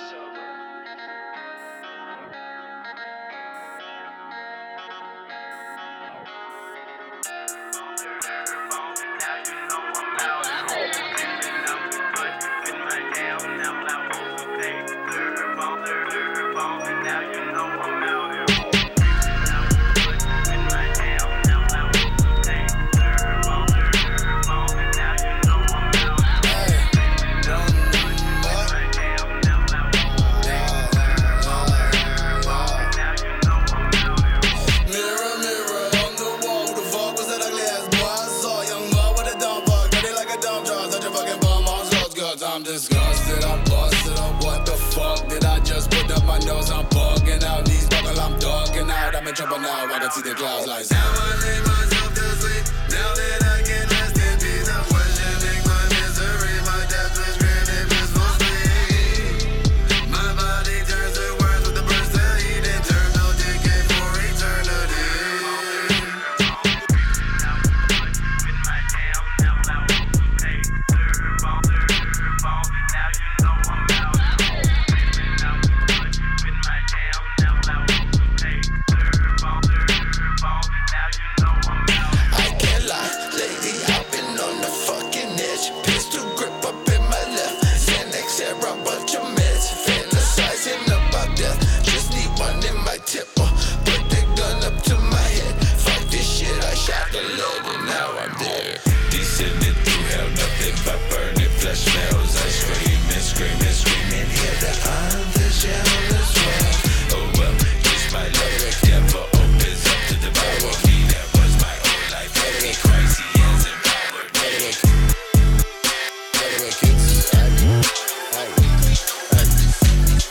Mirror, mirror on the wall, who the fuck was that ugly ass boy I saw? Young boy with a dumb fuck, dirty like a dumb jaw, such a fucking bum on drugs, cause I'm disgusted, I'm busted up. What the fuck did I just put up my nose? I'm bugging out, these buckle, I'm dogging out. I'm in trouble now, I can see the clouds like now I lay myself to sleep, now that I can rest in peace. I'm questioning my misery, my death is really blissful sleep. My body turns to words with the burst of heat, internal decay for eternity.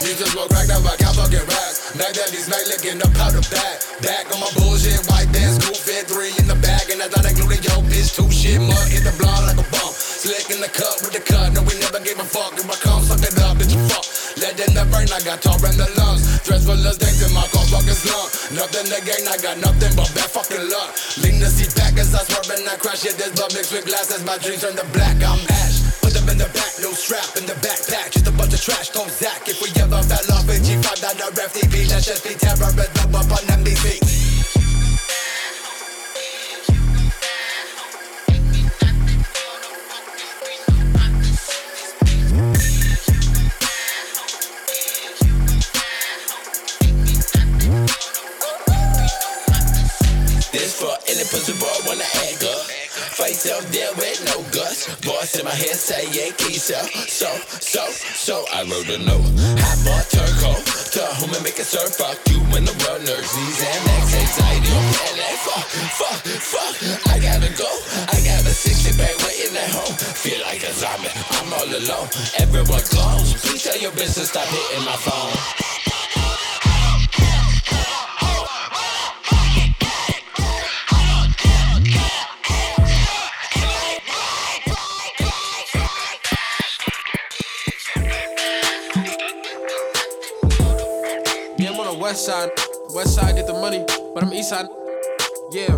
Used to smoke crack, now I got fucking racks. Back that these night licking up out the back. Back on my bullshit, white dance, school fit, three in the bag. And I thought I included yo bitch, two shit, mud hit the block like a bump. Slick in the cup with the cut, no we never gave a fuck. If I come, suck it up, bitch, you fuck. Let in the brain, I got tall in the lungs. Dress full of things in my car, fucking slung. Nothing to gain, I got nothing but bad fucking luck. Lean the seat back as I swerve and I crash it. This blood mixed with glasses, my dreams turn to black, I'm ash. Put them in the back, no strap in the backpack. Just a bunch of trash, don't zack. If we ever fell off in G five, that the F T V. Let's just be terrorism up on M B C. This for any pussy boy wanna act up. Face up there with no guts. Boys in my head say Yankee so, so, so, so I wrote a note. Hot bar turco, to whom I make it serve. Fuck you when the world nerves. These Xanax, anxiety, on panic. Fuck, fuck, fuck, I gotta go. I got a sixty bag waiting at home. Feel like a zombie, I'm all alone. Everyone close, please tell your business stop hitting my phone. West side, west side get the money, but I'm east side. Yeah.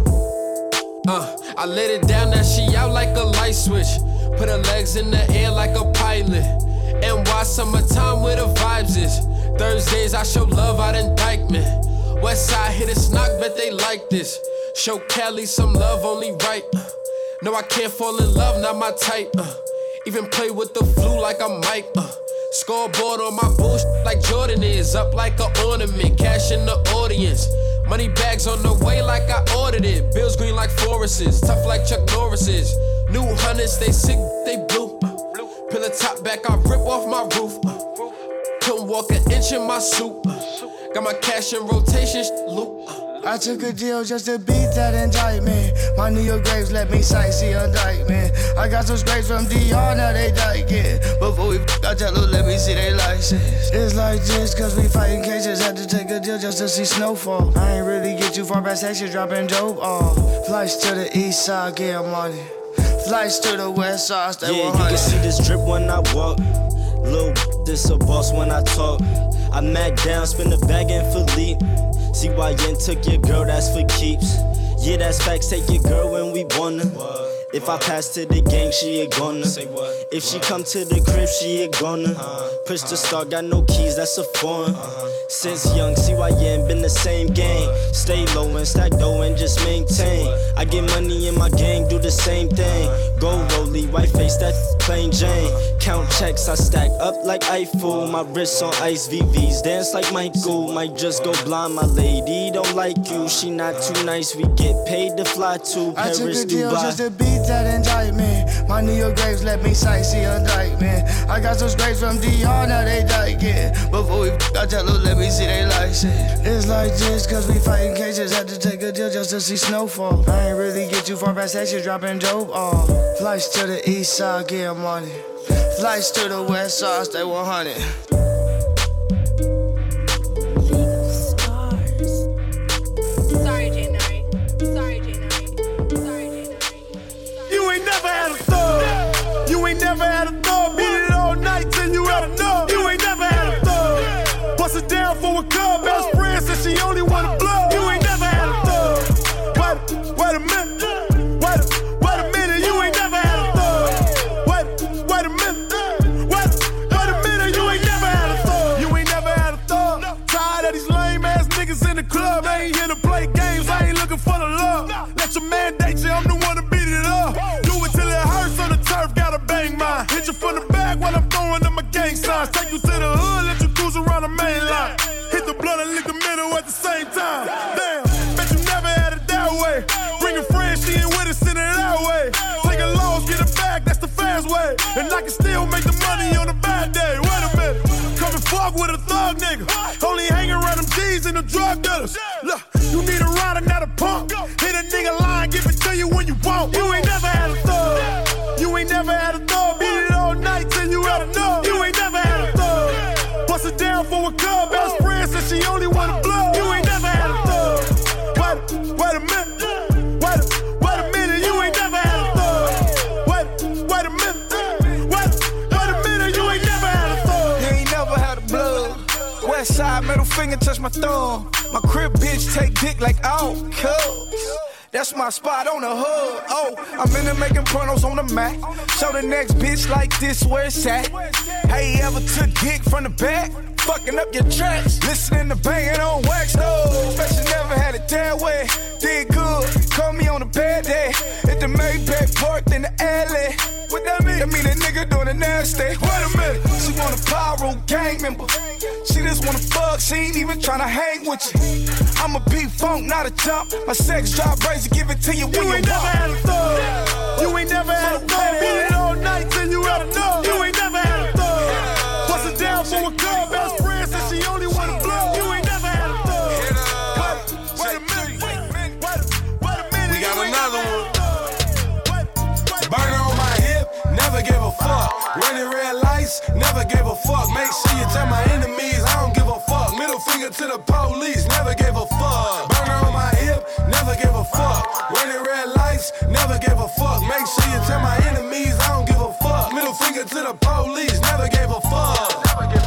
Uh, I laid it down, now she out like a light switch. Put her legs in the air like a pilot. And why summertime where the vibes is. Thursdays I show love out in Dykeman. West side hit a snock, bet they like this. Show Cali some love, only right. Uh, no, I can't fall in love, not my type. Uh, even play with the flu like I'm Mike. Uh, Scoreboard on my bullshit like Jordan is. Up like an ornament, cash in the audience. Money bags on the way like I ordered it. Bills green like Forest's, tough like Chuck Norris's. New hunters, they sick, they blue. Pillar top back, I rip off my roof. Couldn't walk an inch in my suit. Got my cash in rotation, loop. I took a deal just to beat that indictment. My New York graves let me sightsee a indictment. I got some scrapes from D R, now they diking. Before we f***, I tell them, let me see they license. It's like this, cause we fighting cases. Had to take a deal just to see snowfall. I ain't really get too far past section, dropping dope off. Flights to the east side, get money. Flights to the west side, stay yeah, one hundred. You can see this drip when I walk. Lil' this a boss when I talk. I mac down, spin the bag in Philippe. C Y N took your girl, that's for keeps. Yeah, that's facts, take your girl when we wanna. If I pass to the gang, she a gonna. If she come to the crib, she a gonna. Push the start, got no keys, that's a foreign. Since young, C Y N been the same game. Stay low and stack dough and just maintain. I get money in my gang, do the same thing. Gold rollie, white face, that plain Jane. Count checks, I stack up like Eiffel. My wrists on ice, V Vs, dance like Michael. Might just go blind, my lady don't like you. She not too nice, we get paid to fly to Paris, I took a deal Dubai. just to beat that indictment. My New York graves let me sightsee a indictment. I got some scrapes from D R, now they diking. Before we f***, I tell them, let me see they license. It's like this, cause we fighting cases. Had to take a deal just to see snowfall. I ain't really get too far past section, dropping dope off. Flights to the east side, get money. Flights to the west side, stay one hundred. Sorry, J Nari. Sorry, J Nari. Sorry, J Nari. You ain't never had a thug. You ain't never had a thug. Beat it all night till you had enough. You ain't never had a thug. Bust it down for a club. Best friend said she only wanna blow. You ain't never had a thug. Wait, wait a minute. Wait, wait a minute. You ain't never had a thug. Wait, wait a minute. Wait, wait a minute. You ain't never had a thug. You ain't never had a thug. Tired of these lame ass niggas in the club. I ain't here to play games. I ain't looking for the love. Let your mandate you. I'm the one to beat it up. Do it till it hurts on the turf. Gotta bang mine. Hit you from the back while I'm throwing up my gang signs. Take you to the hood. Let you cruise around the main line. Hit the blood and lick the middle at the same time. Damn, bet you never had it that way. Bring a friend, she ain't with us, send it that way. Take a loss, get it back, that's the fast way. And I can still make the money on a bad day. Wait a minute, come and fuck with a thug nigga. Only hang around them G's and the drug dealers. Look, you need a rider, not a punk. Hit a nigga line, give it to you when you want. You ain't never had a thug. You ain't never had a thug. Beat it all night till you had enough. You ain't never had a thug. Bust it down for from a cub, best friend said she only wanna blow. You ain't never had a thug. Wait, wait a minute. Wait, wait a minute. You ain't never had a thug. Wait, wait a minute. Wait, wait a minute. You ain't never had a thug. You ain't never had a blood. West side, middle finger, touch my thumb. My crib bitch take dick like oh, cuz. That's my spot on the hood. Oh, I'm in there making pornos on the Mac. Show the next bitch like this where it's at. Hey, you ever took dick from the back? Fucking up your tracks. Listening to banging on wax, though. Bet you never had it that way. Did good. Call me on a bad day. At the Maybach parked in the alley. What that mean? That mean a nigga doing a nasty. Wait a minute. She want a pyro gang member. She just wanna fuck. She ain't even tryna hang with you. I'm a P-Funk, not a jump. My sex drive crazy. Give it to you when you, you ain't never had a thug. You ain't never had a thug. Beat it all night till you had enough. You ain't never had a thug. Bust it down for a club. Best friend said she only wanna blow. You ain't never had a thug. Wait, wait a minute. Wait, wait, wait a minute. We got another one. Burner on my hip, never gave a fuck. Running red lights, never gave a fuck. Make sure you tell my enemies I don't give a fuck. Middle finger to the police, never gave a fuck. Burner on my hip, never gave a fuck. Running red lights, never gave a fuck. Make sure you tell my enemies I don't give a fuck. Middle finger to the police, never gave a fuck.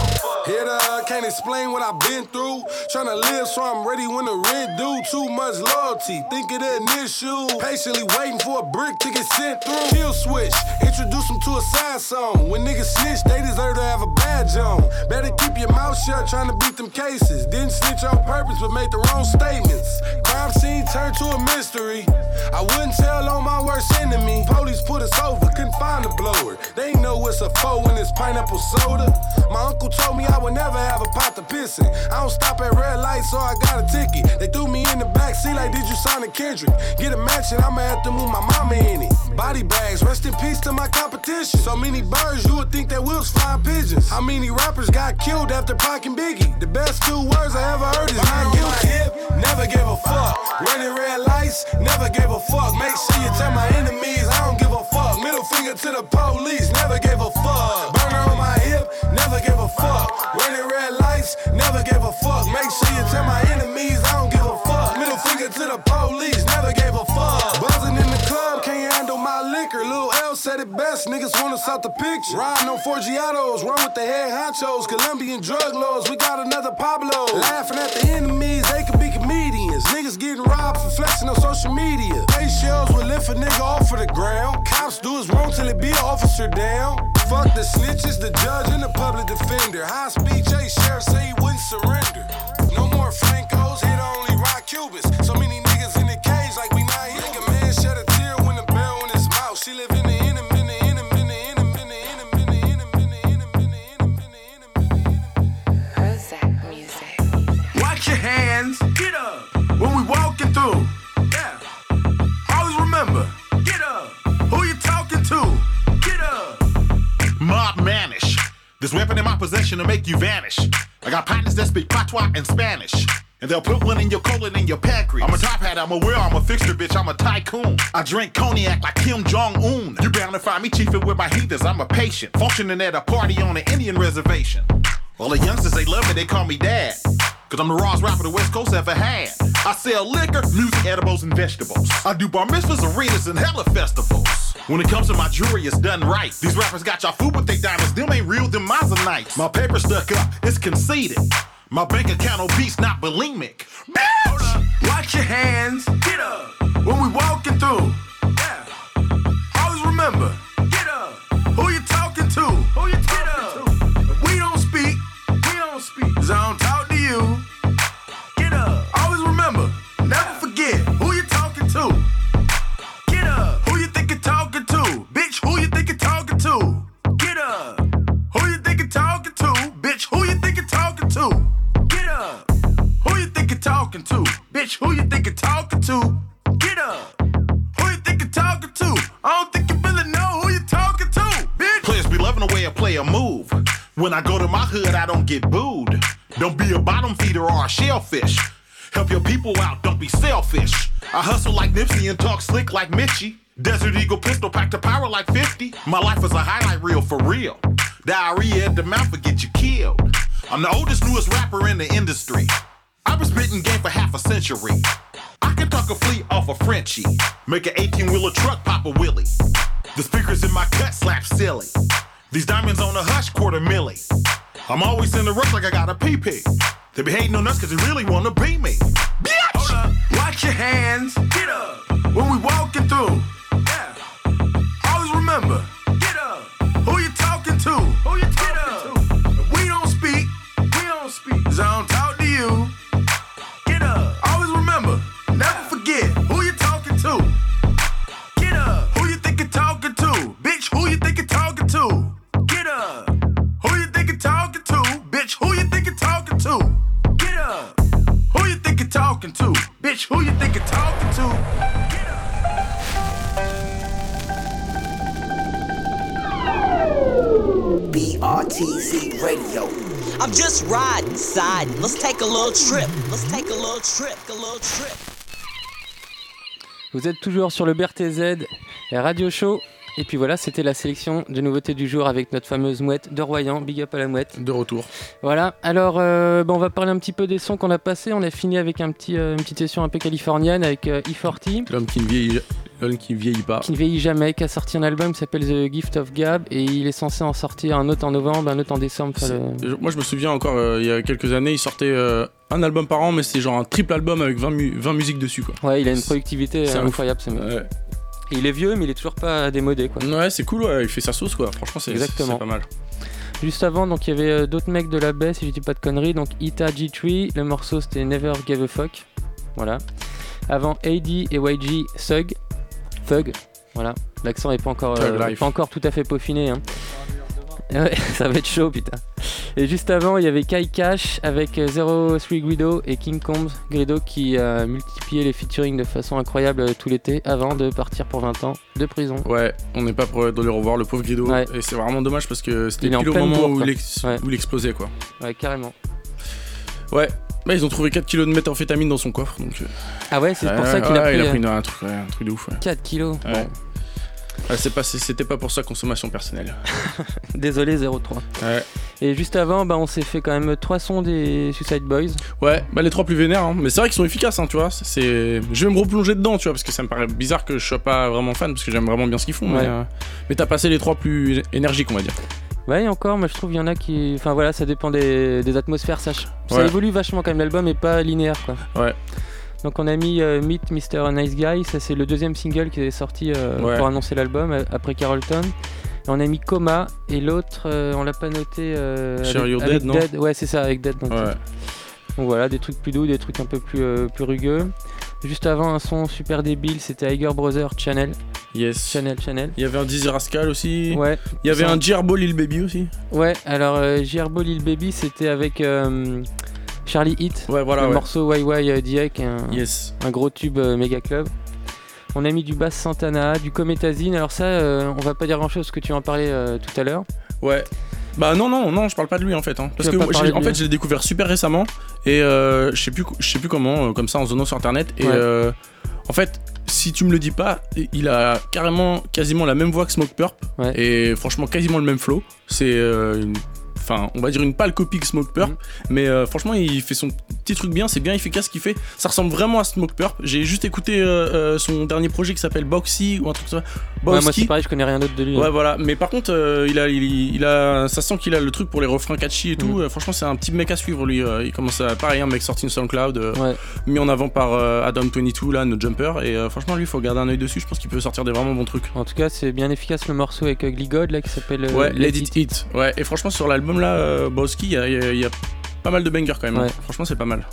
Hit uh, can't explain what I've been through. Tryna live so I'm ready when the rent due. Too much loyalty, think it an issue. Patiently waiting for a brick to get sent through. Kill switch, introduce them to a side song. When niggas snitch, they deserve to have a badge on. Better keep your mouth shut, tryna beat them cases. Didn't snitch on purpose, but made the wrong statements. Crime scene turned to a mystery. I wouldn't tell on my worst enemy. Police put us over, couldn't find the blower. They know what's a foe when it's pineapple soda. My uncle told me I would never have a pot to piss in. I don't stop at red lights, so I got a ticket. They threw me in the back seat like, did you sign a Kendrick? Get a mansion, I'ma have to move my mama in it. Body bags, rest in peace to my competition. So many birds, you would think that we was flying pigeons. How many rappers got killed after Pac and Biggie? The best two words I ever heard is not guilty. Hip, never gave a fuck. Running red lights, never gave a fuck. Make sure you tell my enemies I don't give a fuck. Middle finger to the police, never gave a fuck. Burner on my hip, never gave a fuck. Running red lights, never gave a fuck. Make sure you tell my enemies I don't give a fuck. Middle finger to the police, never gave a fuck. Buzzing in the club, can't handle my liquor. Lil L said it best, niggas want us out the picture. Riding on Forgiatos, run with the head honchos. Colombian drug lords, we got another Pablo. Laughing at the enemies, they could be comedians. Niggas getting robbed for flexing on social media. Face shells will lift a nigga off of the ground. Cops do us wrong till it be an officer down. Fuck the snitches, the judge, and the public defender. High speed J Sheriff say he wouldn't surrender. No more Francos, hit only rock Cubans. So many niggas in the cage like we not here. Nigga man shed a tear when the bell in his mouth. She live in the inner, in the inner, in the inner, in the inner, in the inner, in the inner, in the inner. Prozac music. Watch your hands, get up. When we walking through, yeah. Always remember, get up. Who you talking to? Get up. Mob Manish. This weapon in my possession to make you vanish. I got partners that speak patois and Spanish. And they'll put one in your colon and your pancreas. I'm a top hat, I'm a wear, I'm a fixture, bitch, I'm a tycoon. I drink cognac like Kim Jong-un. You bound to find me chiefing with my heathens, I'm a patient. Functioning at a party on an Indian reservation. All the youngsters, they love me, they call me dad. Cause I'm the rawest rapper the West Coast ever had. I sell liquor, music, edibles, and vegetables. I do bar mitzvahs, arenas, and hella festivals. When it comes to my jewelry, it's done right. These rappers got y'all food with they diamonds, them ain't real, them Mazanites. My paper stuck up, it's conceited. My bank account obese, not bulimic. Bitch! Watch your hands, get up. When we walking through, yeah. Always remember, get up. Who you talking to? Who you talking to? If we don't speak, we don't speak. Cause I don't talk to you. Get up. Always remember, never forget who you talking to. Get up. Who you think you're talking to? Bitch, who you think you're talking to? Get up. Who you think you're talking to? Bitch, who you think you're talking to? Get up. Who you think you're talking to? Bitch, who you think you're talking to? Get up. Who you think you're talking to? I don't think you really know who you're talking to, bitch. Players be loving the way a player move. When I go to my hood, I don't get booed. Don't be a bottom feeder or a shellfish. Help your people out, don't be selfish. I hustle like Nipsey and talk slick like Mitchie. Desert Eagle pistol pack to power like fifty. My life is a highlight reel for real. Diarrhea at the mouth will get you killed. I'm the oldest, newest rapper in the industry. I've been spitting game for half a century. I can talk a fleet off a Frenchie, make an eighteen-wheeler truck pop a wheelie. The speakers in my cut slap silly. These diamonds on a hush quarter milli. I'm always in the rush like I got a pee-pee. They be hating on us cause they really wanna be me. Bitch! Hold up, watch your hands, get up. When we walking through, yeah. Always remember, get up. Who you talking to? Who you talking to? If we don't speak, we don't speak. Cause I don't talk to you. Get up. Always remember, never forget who you talking to. Get up. Who you think you're talking to? Bitch, who you think you're talking to? Get up. Who you think you're talking to? Bitch, who you think you're talking to? Get up. Who you think you're talking to? Bitch, who you think you're talking to? Get up. B R T Z Radio. I'm just riding, siding. Let's take a little trip. Let's take a little trip, a little trip. Vous êtes toujours sur le B R T Z, la radio show. Et puis voilà, c'était la sélection de nouveautés du jour avec notre fameuse mouette de Royan. Big up à la mouette. De retour. Voilà, alors euh, bah on va parler un petit peu des sons qu'on a passés. On a fini avec un petit, euh, une petite session un peu californienne avec euh, E quarante. L'homme qui ne vieillit, l'homme qui ne vieillit pas. Qui ne vieillit jamais, qui a sorti un album qui s'appelle The Gift of Gab. Et il est censé en sortir un autre en novembre, un autre en décembre. Le... Moi je me souviens encore, euh, il y a quelques années, il sortait euh, un album par an, mais c'était genre un triple album avec vingt, mu- vingt musiques dessus, quoi. Ouais, il a une productivité c'est incroyable, ce mec. Ouais. Il est vieux, mais il est toujours pas démodé, quoi. Ouais, c'est cool, ouais, il fait sa sauce, quoi. Franchement, c'est, c'est, c'est pas mal. Juste avant, donc il y avait euh, d'autres mecs de la baie, si je dis pas de conneries. Donc Ita G trois, le morceau c'était Never Gave a Fuck. Voilà. Avant A D et Y G, Thug. Thug. Voilà. L'accent est pas encore, euh, pas encore tout à fait peaufiné, hein. Ouais, ça va être chaud, putain. Et juste avant, il y avait Kai Cash avec zéro trois Guido et King Combs Guido qui a multiplié les featuring de façon incroyable tout l'été avant de partir pour vingt ans de prison. Ouais, on n'est pas prêt de le revoir, le pauvre Guido. Ouais. Et c'est vraiment dommage parce que c'était pile au moment bourre, où, il ex- ouais. où il explosait, quoi. Ouais, carrément. Ouais. Bah, ils ont trouvé quatre kilos de méthamphétamine dans son coffre, donc. Ah ouais, c'est ouais, pour ça qu'il ouais, a pris. Il a pris une, un, truc, ouais, un truc de ouf. Ouais. quatre kilos. Ouais. Bon. Ah, c'est pas, c'était pas pour sa consommation personnelle. Désolé, zéro trois. Ouais. Et juste avant, bah, on s'est fait quand même trois sons des Suicide Boys. Ouais, bah les trois plus vénères, hein. Mais c'est vrai qu'ils sont efficaces, hein, tu vois. C'est... Je vais me replonger dedans, tu vois, parce que ça me paraît bizarre que je sois pas vraiment fan, parce que j'aime vraiment bien ce qu'ils font. Ouais. Mais, euh... mais t'as passé les trois plus énergiques, on va dire. Ouais, et encore, moi je trouve qu'il y en a qui. Enfin voilà, ça dépend des, des atmosphères, ça, ça ouais. évolue vachement quand même, l'album est pas linéaire, quoi. Ouais. Donc on a mis euh, Meet mister Nice Guy, ça c'est le deuxième single qui est sorti euh, ouais. pour annoncer l'album après Carlton. Et on a mis Coma et l'autre euh, on l'a pas noté euh, Share avec, Your avec Dead, non Dead. Ouais c'est ça, avec Dead. Donc, ouais. donc voilà, des trucs plus doux, des trucs un peu plus, euh, plus rugueux. Juste avant un son super débile, c'était Iger Brothers Channel. Yes. Channel, Channel. Il y avait un Dizzy Rascal aussi. Ouais. Il y avait ça. Un Gerbo Lil Baby aussi. Ouais, alors euh, Gerbo Lil Baby c'était avec... Euh, Charlie Hit, ouais, voilà, le ouais. morceau Y Y D I, qui est un, yes. un gros tube euh, méga club. On a mis du Bass Santana, du Comethazine. Alors ça, euh, on va pas dire grand chose parce que tu en parlais euh, tout à l'heure. Ouais. Bah non non non, je parle pas de lui en fait. Hein. Parce que moi, en fait, je l'ai découvert super récemment et euh, je sais plus, je sais plus comment, euh, comme ça en zonant sur internet. Et ouais. euh, en fait, si tu me le dis pas, il a carrément, quasiment la même voix que Smoke Purp ouais. et franchement quasiment le même flow. C'est euh, une Enfin, on va dire une pâle copie de Smoke Purp, mmh. mais euh, franchement, il fait son petit truc bien, c'est bien efficace ce qu'il fait. Ça ressemble vraiment à Smoke Purp. J'ai juste écouté euh, euh, son dernier projet qui s'appelle Boxy ou un truc comme ça. Ouais, moi c'est pareil, je connais rien d'autre de lui. Ouais, hein. voilà. Mais par contre, euh, il a, il, il a, ça sent qu'il a le truc pour les refrains catchy et tout. Mmh. Euh, franchement, c'est un petit mec à suivre lui. Euh, il commence à, pareil, un mec sorti de SoundCloud, euh, ouais. mis en avant par euh, Adam vingt-deux là, notre jumper. Et euh, franchement, lui, il faut garder un œil dessus. Je pense qu'il peut sortir des vraiment bons trucs. En tout cas, c'est bien efficace le morceau avec Ugly God là qui s'appelle. Euh, ouais, Let It Hit. Ouais. Et franchement, sur l'album là, euh, Boss il y, a, il y a pas mal de bangers quand même, ouais. hein. Franchement c'est pas mal.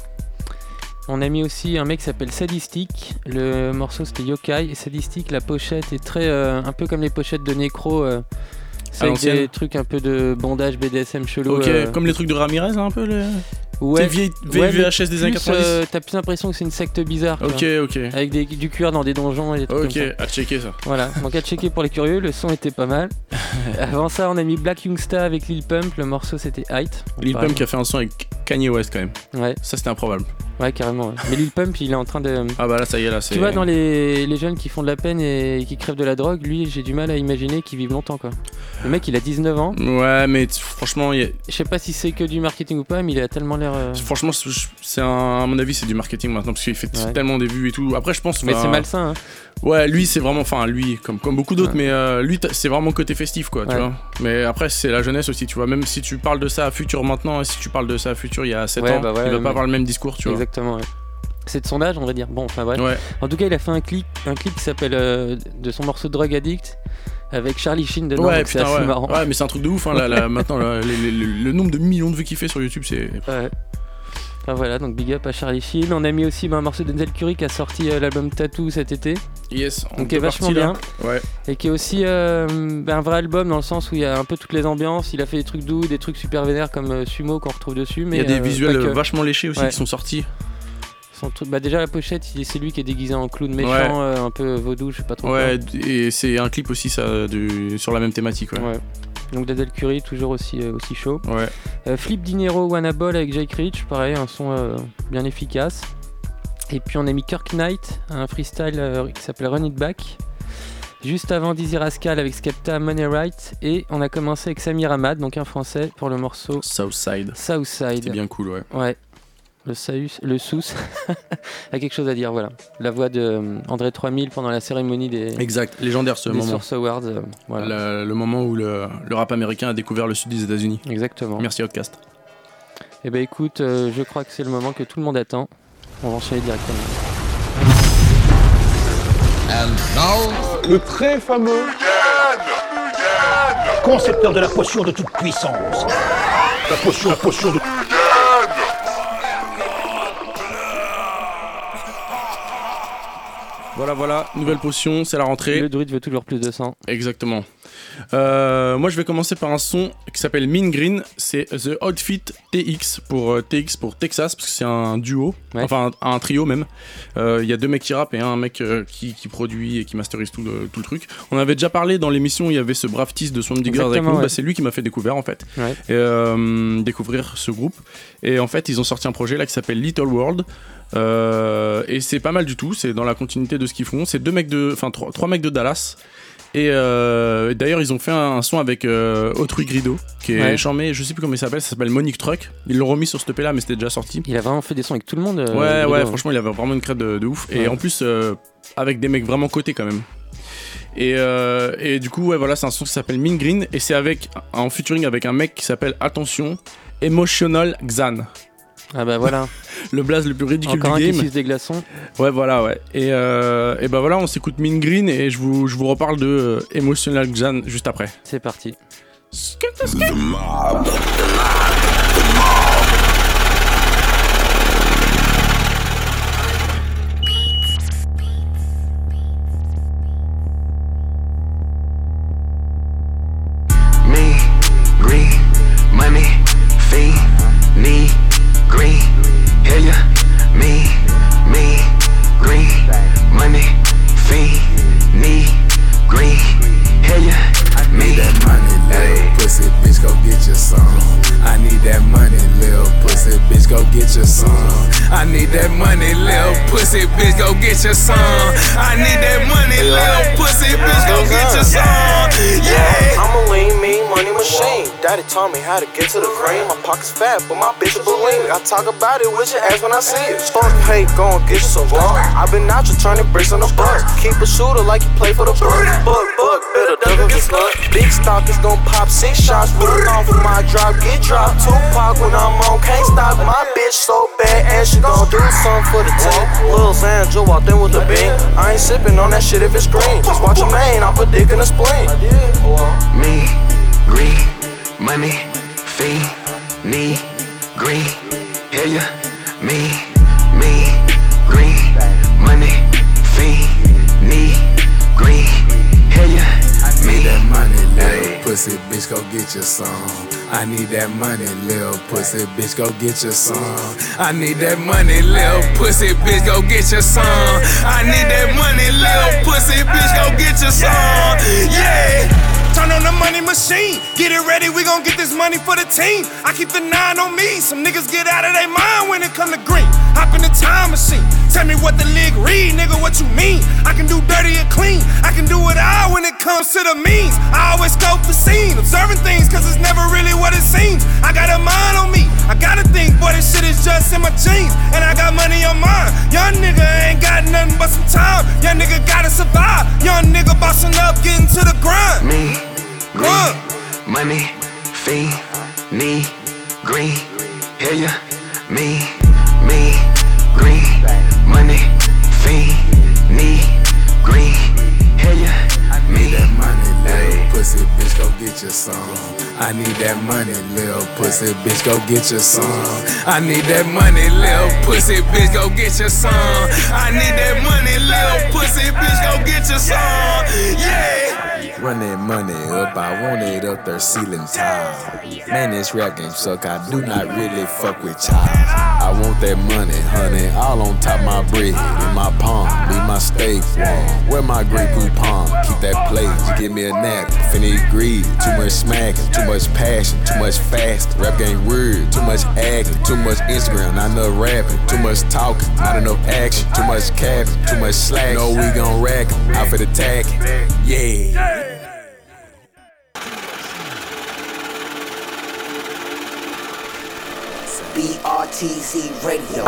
On a mis aussi un mec qui s'appelle Sadistic, le morceau c'était Yokai, et Sadistic la pochette est très euh, un peu comme les pochettes de Necro, euh, c'est avec des trucs un peu de bandage B D S M chelou. Ok, euh, comme les trucs de Ramirez un peu les... Ouais, c'est vieille ouais, V H S des années quatre-vingt-dix. Euh, t'as plus l'impression que c'est une secte bizarre. Ok, ok. Avec des, du cuir dans des donjons et des trucs Ok, comme ça. À checker ça. Voilà, donc à checker pour les curieux, le son était pas mal. Avant ça, on a mis Black Youngsta avec Lil Pump, le morceau c'était Height. Lil Pump qui a fait un son avec Kanye West quand même. Ouais. Ça c'était improbable. Ouais, carrément. Ouais. Mais Lil Pump, il est en train de. Ah bah là, ça y est, là, c'est. Tu vois, dans les, les jeunes qui font de la peine et qui crèvent de la drogue, lui, j'ai du mal à imaginer qu'il vive longtemps, quoi. Le mec, il a dix-neuf ans. Ouais, mais t- franchement, il y a... je sais pas si c'est que du marketing ou pas, mais il a tellement l'air. Euh... Franchement, c'est un, à mon avis, c'est du marketing maintenant parce qu'il fait ouais. tellement des vues et tout. Après, je pense. Mais bah, c'est malsain, hein. Ouais, lui, c'est vraiment. Enfin, lui, comme, comme beaucoup d'autres, ouais. mais euh, lui, c'est vraiment côté festif, quoi, tu ouais. vois. Mais après, c'est la jeunesse aussi, tu vois. Même si tu parles de ça à Futur maintenant, et si tu parles de ça à Futur il y a sept ouais, ans, bah ouais, il va mais... pas avoir le même discours, tu vois. Exactement, ouais. C'est de son âge, on va dire. Bon, enfin bref. Ouais. En tout cas, il a fait un clip, un clip qui s'appelle euh, de son morceau Drug Addict avec Charlie Sheen dedans. Ouais, donc putain, c'est assez ouais. marrant. Ouais, mais c'est un truc de ouf. Hein, là, là, maintenant, là, les, les, les, le nombre de millions de vues qu'il fait sur YouTube, c'est. Ouais. Enfin voilà, donc big up à Charlie Sheen. On a mis aussi bah, un morceau de Denzel Curry qui a sorti euh, l'album Tattoo cet été. Yes. Donc qui est vachement bien. Ouais. Et qui est aussi euh, bah, un vrai album dans le sens où il y a un peu toutes les ambiances. Il a fait des trucs doux, des trucs super vénères comme euh, Sumo qu'on retrouve dessus. Mais il y a des euh, visuels que... vachement léchés aussi ouais. qui sont sortis. Son truc, bah déjà la pochette, c'est lui qui est déguisé en clown méchant, ouais. euh, un peu vaudou, je sais pas trop. Ouais, quoi. Et c'est un clip aussi ça, du, sur la même thématique. Ouais. ouais. Donc Denzel Curry, toujours aussi, euh, aussi chaud. Ouais. Euh, Flip Dinero, Wanna Ball avec Jake Rich, pareil, un son euh, bien efficace. Et puis on a mis Kirk Knight, un freestyle euh, qui s'appelle Run It Back. Juste avant Dizzy Rascal avec Skepta, Money Right. Et on a commencé avec Samir Ahmad, donc un français, pour le morceau Southside. Southside. C'est bien cool, ouais. Ouais. Le Saus, le Sous a quelque chose à dire, voilà. La voix de euh, André trois mille pendant la cérémonie des. Exact, légendaire ce des moment. Source Awards, euh, voilà. Le, le moment où le, le rap américain a découvert le sud des États-Unis. Exactement. Merci Outcast. Eh ben écoute, euh, je crois que c'est le moment que tout le monde attend. On va enchaîner directement. And now, le très fameux concepteur de la potion de toute puissance. La potion, la potion de. Voilà, voilà, nouvelle potion, c'est la rentrée. Le druide veut toujours plus de sang. Exactement. Euh, moi, je vais commencer par un son qui s'appelle Mean Green. C'est The Outfit T X pour euh, T X pour Texas, parce que c'est un duo, ouais. enfin un, un trio même. Il euh, y a deux mecs qui rappent et un mec euh, qui, qui produit et qui masterise tout le, tout le truc. On avait déjà parlé dans l'émission, il y avait ce brave tease de Swamp Diggers avec nous. Ouais. Bah, c'est lui qui m'a fait découvrir en fait. Ouais. Et, euh, découvrir ce groupe. Et en fait, ils ont sorti un projet là qui s'appelle Little World. Euh, et c'est pas mal du tout, c'est dans la continuité de ce qu'ils font. C'est deux mecs de, enfin trois, trois mecs de Dallas. Et euh, d'ailleurs, ils ont fait un, un son avec euh, Autrui Grido, qui est ouais. charmé. Je sais plus comment il s'appelle. Ça s'appelle Monique Truck. Ils l'ont remis sur ce E P là, mais c'était déjà sorti. Il a vraiment fait des sons avec tout le monde. Euh, ouais, Grido, ouais. hein. Franchement, il avait vraiment une crête de, de ouf. Ouais. Et en plus, euh, avec des mecs vraiment cotés quand même. Et, euh, et du coup, ouais, voilà, c'est un son qui s'appelle Mean Green et c'est avec en featuring avec un mec qui s'appelle, attention, Emotional Xan. Ah bah voilà. Le blaze le plus ridicule Encore du un game. qui suce des glaçons. Ouais, voilà, ouais. Et, euh, et bah voilà, on s'écoute Mean Green et je vous, je vous reparle de euh, Emotional Xan juste après. C'est parti. The mob. Me, green, money, fee, need, green, hear ya? Me, me, green, money, fee, need, green, hear ya? I need that money, little pussy, bitch, go get your some. I need that money, little pussy, bitch, go get your some. I need that money, little pussy, bitch, go get your some. I need that money, little pussy, bitch, go get your some. Yeah, I'm a lean, mean money machine. Daddy taught me how to get to the cream. My pocket's fat, but my bitch is bulimic. I talk about it with your ass when I see it. Fuck hate, go and get you some raw. I've been out just turning bricks on the bus. Keep a shooter like you play for the Bucks. Buck, buck, better duck and get slut. Big stock is gon' pop six shots. Put on for my drop, get dropped. Tupac when I'm on, can't stop. My bitch so bad, and she gon' do something for the team. Lil Sandra walked in with the bean. I ain't sippin' on that shit if it's green. Just watch your main, I'll put dick in the spleen. Me, green, money, fee, need, green, hear ya? Me, me, green, money, fee, need, green, hear ya? Me, that money, little pussy, bitch, go get your some. I need that money, little pussy, bitch, go get your some. I need that money, little pussy, bitch, go get your some. I need that money, little pussy, bitch, go get your some. Yeah. Turn on the money machine. Get it ready, we gon' get this money for the team. I keep the nine on me. Some niggas get out of their mind when it come to green. Hop in the time machine. Tell me what the league read, nigga, what you mean? I can do dirty and clean. I can do it all when it comes to the means. I always scope the scene, observing things, cause it's never really what it seems. I got a mind on me. I gotta think, boy, this shit is just in my jeans. And I got money on mine. Young nigga ain't got nothing but some time. Young nigga gotta survive. Young nigga bossing up, getting to the grind. Me, green, money, fiend, knee, green, hear ya? Me, me, green, money, fiend, knee, green, hear ya? Me, that money, little pussy bitch, go get your some. I need that money, little pussy bitch, go get your some. I need that money, little pussy bitch, go get your some. I need that money, little pussy bitch, go get your some. Yeah. Run that money up, I want it up there ceiling tile. Man, this rap game suck, I do not really fuck with child. I want that money, honey, all on top my bread. In my palm, leave my steak warm. Where my Grey Poupon, keep that plate, you give me a nap. Finny greed, too much smacking, too much passion, too much fast. Rap game weird, too much acting, too much Instagram, not enough rapping. Too much talking, not enough action. Too much capping, too much slack. No, we gon' rack 'em, out for the attacking. Yeah. B R T C Radio.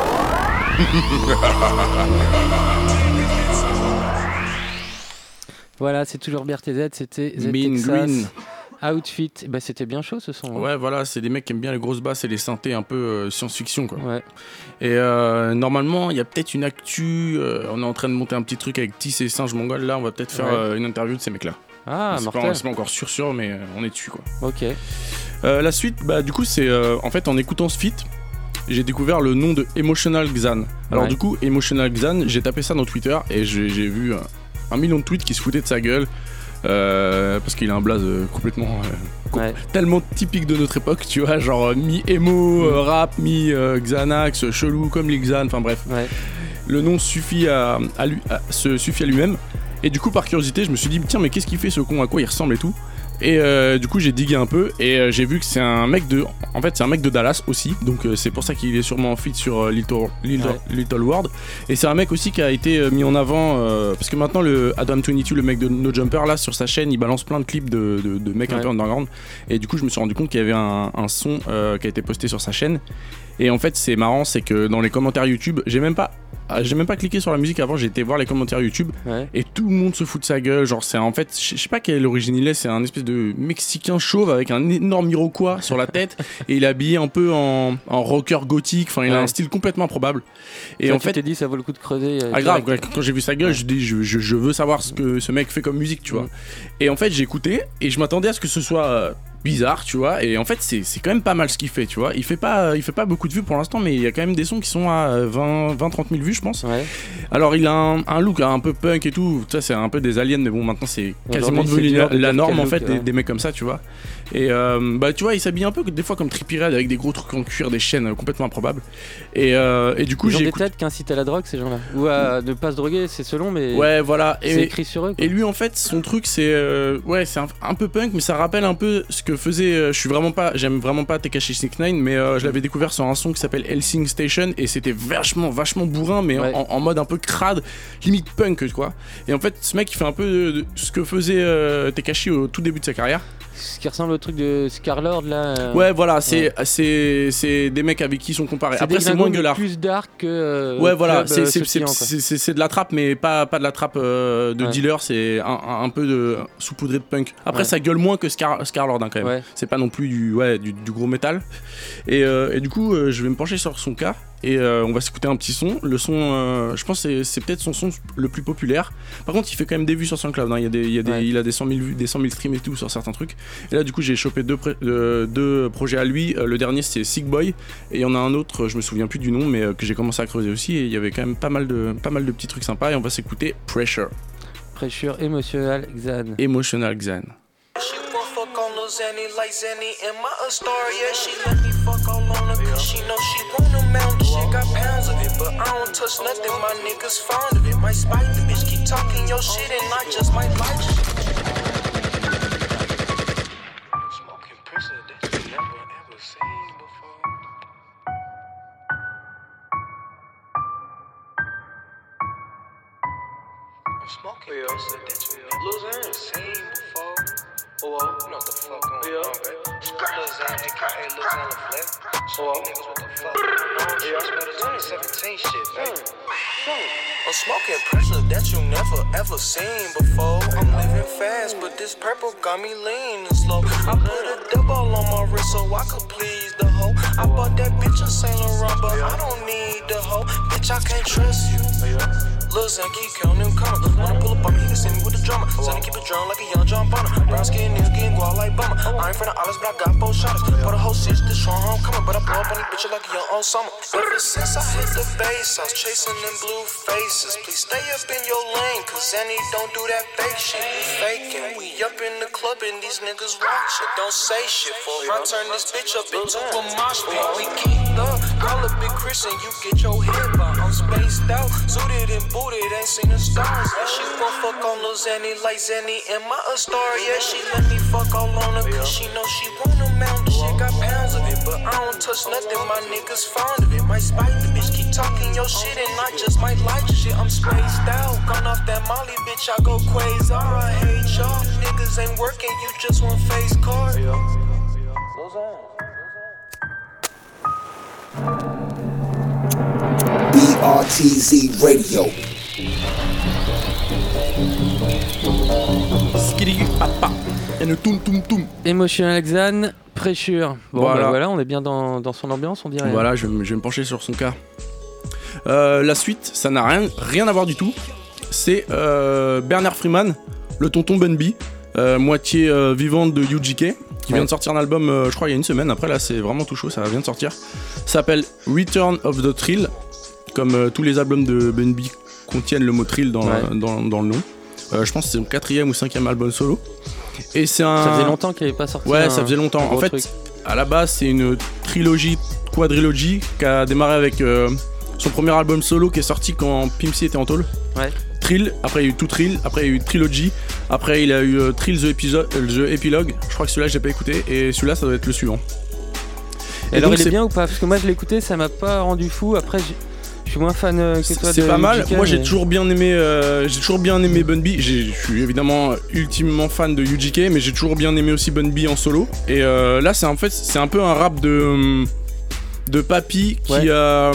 Voilà, c'est toujours B R T Z, c'était The Mean Texas Green. Outfit. Bah, c'était bien chaud ce son. Hein. Ouais, voilà, c'est des mecs qui aiment bien les grosses basses et les synthés un peu euh, science-fiction, quoi. Ouais. Et euh, normalement, il y a peut-être une actu. Euh, on est en train de monter un petit truc avec Tis et Singe Mongol. Là, on va peut-être faire Ouais. euh, une interview de ces mecs-là. Ah, c'est mortel. pas, c'est pas encore sûr, sûr, mais euh, on est dessus, quoi. Ok. Euh, la suite, bah, du coup, c'est euh, en fait en écoutant ce feat, j'ai découvert le nom de Emotional Xan. Alors, Ouais. du coup, Emotional Xan, j'ai tapé ça dans Twitter et j'ai, j'ai vu un, un million de tweets qui se foutaient de sa gueule. Euh, parce qu'il a un blaze euh, complètement euh, com- Ouais. tellement typique de notre époque, tu vois, genre euh, mi-emo, euh, rap, mi-Xanax, euh, chelou comme les Xan, enfin bref. Ouais. Le nom suffit à, à lui, à- se suffit à lui-même. Et du coup, par curiosité, je me suis dit, tiens, mais qu'est-ce qu'il fait ce con, à quoi il ressemble et tout. Et euh, du coup, j'ai digué un peu et euh, j'ai vu que c'est un mec de. En fait, c'est un mec de Dallas aussi. Donc, euh, c'est pour ça qu'il est sûrement en feat sur euh, Little, Little, Ouais. Little World. Et c'est un mec aussi qui a été euh, mis en avant. Euh, parce que maintenant, le Adam vingt-deux, le mec de No Jumper, là, sur sa chaîne, il balance plein de clips de, de, de mecs un Ouais. peu underground. Et du coup, je me suis rendu compte qu'il y avait un, un son euh, qui a été posté sur sa chaîne. Et en fait, c'est marrant, c'est que dans les commentaires YouTube, j'ai même pas. ah, J'ai même pas cliqué sur la musique avant, j'ai été voir les commentaires YouTube Ouais. et tout le monde se fout de sa gueule. Genre, c'est en fait, je je sais pas quelle origine il est, c'est un espèce de Mexicain chauve avec un énorme Iroquois sur la tête et il est habillé un peu en, en rocker gothique. Enfin, il a Ouais. un style complètement improbable. Et Toi, en tu fait, t'es dit, ça vaut le coup de creuser. euh, ah grave, direct. ouais, quand j'ai vu sa gueule, je dis je, je, je veux savoir ce que ce mec fait comme musique, tu vois. Mm. Et en fait, j'ai écouté et je m'attendais à ce que ce soit euh, bizarre, tu vois. Et en fait, c'est, c'est quand même pas mal ce qu'il fait, tu vois. Il fait pas, il fait pas beaucoup de vues pour l'instant, mais il y a quand même des sons qui sont à vingt à trente mille vues, je pense. Ouais. Alors, il a un, un look un peu punk et tout. Ça, c'est un peu des aliens, mais bon, maintenant, c'est quasiment Aujourd'hui, devenu c'est dur la, de la dire norme quel en fait, look, des, ouais. des mecs comme ça, tu vois. Et euh, bah, tu vois, il s'habille un peu des fois comme Trippie Redd avec des gros trucs en cuir, des chaînes euh, complètement improbables. Et, euh, et du coup, Ils ont j'ai des écouté. têtes qui incitent à la drogue, ces gens-là. Ou à ne pas se droguer, c'est selon, mais. Ouais, voilà. C'est Et, écrit sur eux. quoi. et lui, en fait, son truc, c'est euh, ouais, c'est un, un peu punk, mais ça rappelle un peu ce que faisait. euh, je suis vraiment pas, j'aime vraiment pas Tekashi six neuf, mais euh, je l'avais découvert sur un son qui s'appelle Helsing Station et c'était vachement, vachement bourrin, mais Ouais. en, en mode un peu crade, limite punk, quoi. Et en fait, ce mec, il fait un peu de, de ce que faisait euh, Tekashi au tout début de sa carrière. Ce qui ressemble au truc de Scarlord là. euh, Ouais, voilà, c'est, ouais. c'est, c'est des mecs avec qui ils sont comparés. C'est Après, des c'est moins gringos, mais gueulard. plus dark que. euh, Ouais, voilà, club, c'est, euh, c'est, c'est, sautillant, quoi. c'est, c'est- c'est de la trappe, mais pas, pas de la trappe euh, de Ouais. dealer, c'est un, un- un peu de saupoudré de punk. Après, Ouais. ça gueule moins que Scar, Scarlord, hein, quand même. Ouais. C'est pas non plus du, ouais, du, du gros métal. Et, euh, et du coup, euh, je vais me pencher sur son cas et euh, on va s'écouter un petit son. Le son, euh, je pense que c'est, c'est peut-être son son le plus populaire. Par contre, il fait quand même des vues sur SoundCloud. Hein. Il, y a des, il, y a des, Ouais. il a des cent mille vues, des cent mille streams et tout sur certains trucs. Et là, du coup, j'ai chopé deux, pré- euh, deux projets à lui. Euh, le dernier, c'est Sick Boy. Et il y en a un autre, je me souviens plus du nom, mais euh, que j'ai commencé à creuser aussi. Et il y avait quand même pas mal de, pas mal de petits trucs sympas. Et on va s'écouter Pressure. Pressure émotionnelle, Xan. Emotional Xan. She won't fuck on Lil Xanny like Xanny in my Astoria. She let me fuck all on her cause she know she want a mound. She got pounds of it, but I don't touch nothing. My niggas fond of it. Might spite the bitch, keep talking your shit and I just might like it. smoking yeah. Pressure that you never seen before. Oh, oh, you know what the fuck going yeah. on, baby. Lil Xan, aka Lil Xan LaFleur. So oh, niggas what the fuck going on? Yeah. Better twenty seventeen shit, baby. I'm smoking pressure that you never ever seen before. I'm living fast, but this purple got me lean and slow. I put a double on my wrist so I could please the hoe. I bought that bitch a Saint Laurent, but I don't need the hoe. Bitch, I can't trust you. Lil Xan keep counting them coming. Wanna pull up on me, he can send me with the drummer. Send him keep it drum like a young John Bonner. Brown skin niggas getting guap like bummer. I ain't from the islands, but I got four shotters. For the whole shit, this strong homecoming. But I blow up on these bitches like a young old summer. Ever since I hit the base, I was chasing them blue faces. Please stay up in your lane, cause Annie don't do that fake shit. Faking, we up in the club and these niggas watch it. Don't say shit for I turn this bitch up into a mosh pit. We keep up, call a big Chris and you get your head by. I'm spaced out, suited and booted, ain't seen the stars. Yeah, she gon' fuck on Lil Xanny like Xanny. Am I a star? Yeah, she let me fuck all on her, cause she know she want a mound. The shit got pounds of it, but I don't touch nothing, my niggas fond of it. Might spite the bitch, keep talking your shit and I just might like shit. I'm spaced out, gone off that Molly, bitch, I go crazy. I hate y'all, niggas ain't working, you just want face card. B R T Z Radio. Skiddy papa. Et le toum toum toum. Emotional Xan, Pressure. Bon, voilà. Bah voilà, on est bien dans, dans son ambiance, on dirait. Voilà, je, je vais me pencher sur son cas. Euh, la suite, ça n'a rien, rien à voir du tout. C'est euh, Bernard Freeman, le tonton Bun B, euh, moitié euh, vivante de U G K, qui ouais. vient de sortir un album, euh, je crois, il y a une semaine. Après, là, c'est vraiment tout chaud, ça vient de sortir. Ça s'appelle Return of the Thrill, comme euh, tous les albums de Bun B contiennent le mot thrill dans, ouais. dans, dans le nom. Euh, je pense que c'est son quatrième ou cinquième album solo. Et c'est un... Ça faisait longtemps qu'il n'avait pas sorti. Ouais, un, ça faisait longtemps. En fait, truc. À la base, c'est une trilogie, quadrilogie, qui a démarré avec euh, son premier album solo qui est sorti quand Pimp C était en tôle. Ouais. Thrill, après il y a eu tout Thrill, après il y a eu Trilogy, après il a eu euh, Thrill the, Episode, euh, the Epilogue. Je crois que celui-là j'ai pas écouté et celui-là ça doit être le suivant. Et, et alors il est bien ou pas? Parce que moi je l'ai écouté, ça m'a pas rendu fou. Après je suis moins fan que toi. C'est de pas mal. U G K, moi j'ai mais... toujours bien aimé, euh, j'ai toujours bien aimé Bun B. Je suis évidemment ultimement fan de U G K, mais j'ai toujours bien aimé aussi Bun B en solo. Et euh, là c'est en fait c'est un peu un rap de de papy qui ouais. a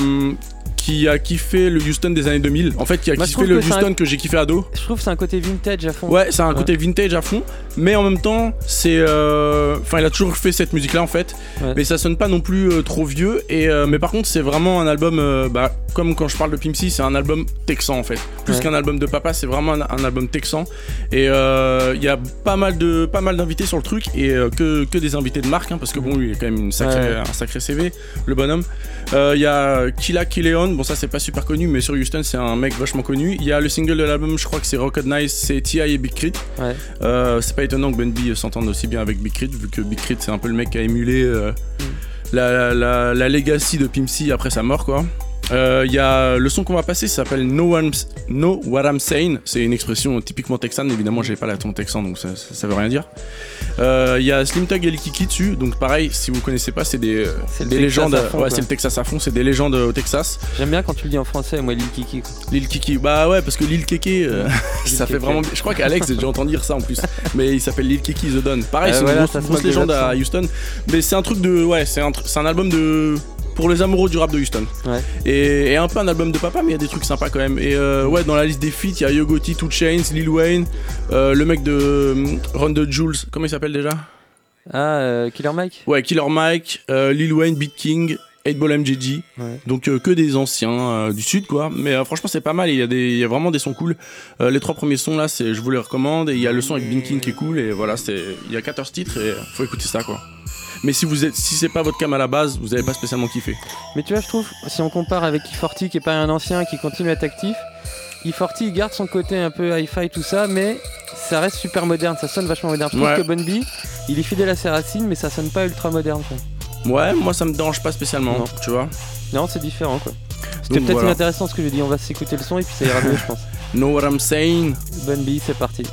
qui a kiffé le Houston des années deux mille. En fait, qui a Moi, kiffé le que Houston un... que j'ai kiffé ado. Je trouve que c'est un côté vintage à fond. Ouais, c'est un ouais. côté vintage à fond. Mais en même temps, c'est. Enfin, euh... il a toujours fait cette musique-là en fait. Ouais. Mais ça sonne pas non plus euh, trop vieux. Et, euh, mais par contre, c'est vraiment un album. Euh, bah, comme quand je parle de Pimp C, c'est un album texan en fait. Plus ouais. qu'un album de papa, c'est vraiment un, un album texan. Et il euh, y a pas mal, de, pas mal d'invités sur le truc. Et euh, que, que des invités de marque. Hein, parce que bon, lui, il est quand même une sacrée, ouais. un sacré C V, le bonhomme. Il euh, y a Killa Kileon. Bon, ça, c'est pas super connu, mais sur Houston c'est un mec vachement connu. Il y a le single de l'album, je crois que c'est Recognize, c'est T I et Big Crit. Ouais. Euh, c'est pas étonnant que Bun B s'entende aussi bien avec Big Crit, vu que Big Crit c'est un peu le mec qui a émulé euh, mm. la, la, la, la legacy de Pimp C après sa mort quoi. Il euh, y a le son qu'on va passer, ça s'appelle Know, know What I'm Saying. C'est une expression typiquement texane, évidemment j'ai pas l'accent texan donc ça, ça, ça veut rien dire. Il euh, y a Slim Thug et Lil Kiki dessus, donc pareil, si vous connaissez pas, c'est des, c'est des légendes. Fond, ouais, c'est le Texas à fond, c'est des légendes au Texas. J'aime bien quand tu le dis en français, moi Lil Kiki. Quoi. Lil Kiki, bah ouais, parce que Lil Keke, euh, ça fait vraiment. Je crois qu'Alex, j'ai déjà entendu dire ça en plus, mais il s'appelle Lil Kiki The Don. Pareil, euh, c'est voilà, une grosse, grosse légende à Houston, mais c'est un truc de. Ouais, c'est un, c'est un album de. Pour les amoureux du rap de Houston. Ouais. Et, et un peu un album de papa, mais il y a des trucs sympas quand même. Et euh, ouais, dans la liste des feats, il y a Yo Gotti, two Chainz, Lil Wayne, euh, le mec de euh, Run the Jules, comment il s'appelle déjà? Ah, euh, Killer Mike. Ouais, Killer Mike, euh, Lil Wayne, Beat King, eight ball M J G. Ouais. Donc euh, que des anciens euh, du sud quoi. Mais euh, franchement c'est pas mal. Il y a des, il y a vraiment des sons cool. Euh, les trois premiers sons là, c'est, je vous les recommande. Et il y a le son avec Beat King qui est cool. Et voilà, c'est, il y a quatorze titres et faut écouter ça quoi. Mais si vous êtes, si c'est pas votre cam à la base, vous avez pas spécialement kiffé. Mais tu vois, je trouve, si on compare avec E quarante qui est pas un ancien qui continue à être actif, E quarante il garde son côté un peu hi-fi tout ça, mais ça reste super moderne, ça sonne vachement moderne. Je trouve ouais. que Bun B, il est fidèle à ses racines, mais ça sonne pas ultra moderne. Quoi. Ouais, moi ça me dérange pas spécialement, non. Tu vois. Non, c'est différent quoi. C'était Donc, peut-être voilà. inintéressant ce que je dis, on va s'écouter le son et puis ça ira mieux, je pense. Know what I'm saying. Bun B, c'est parti.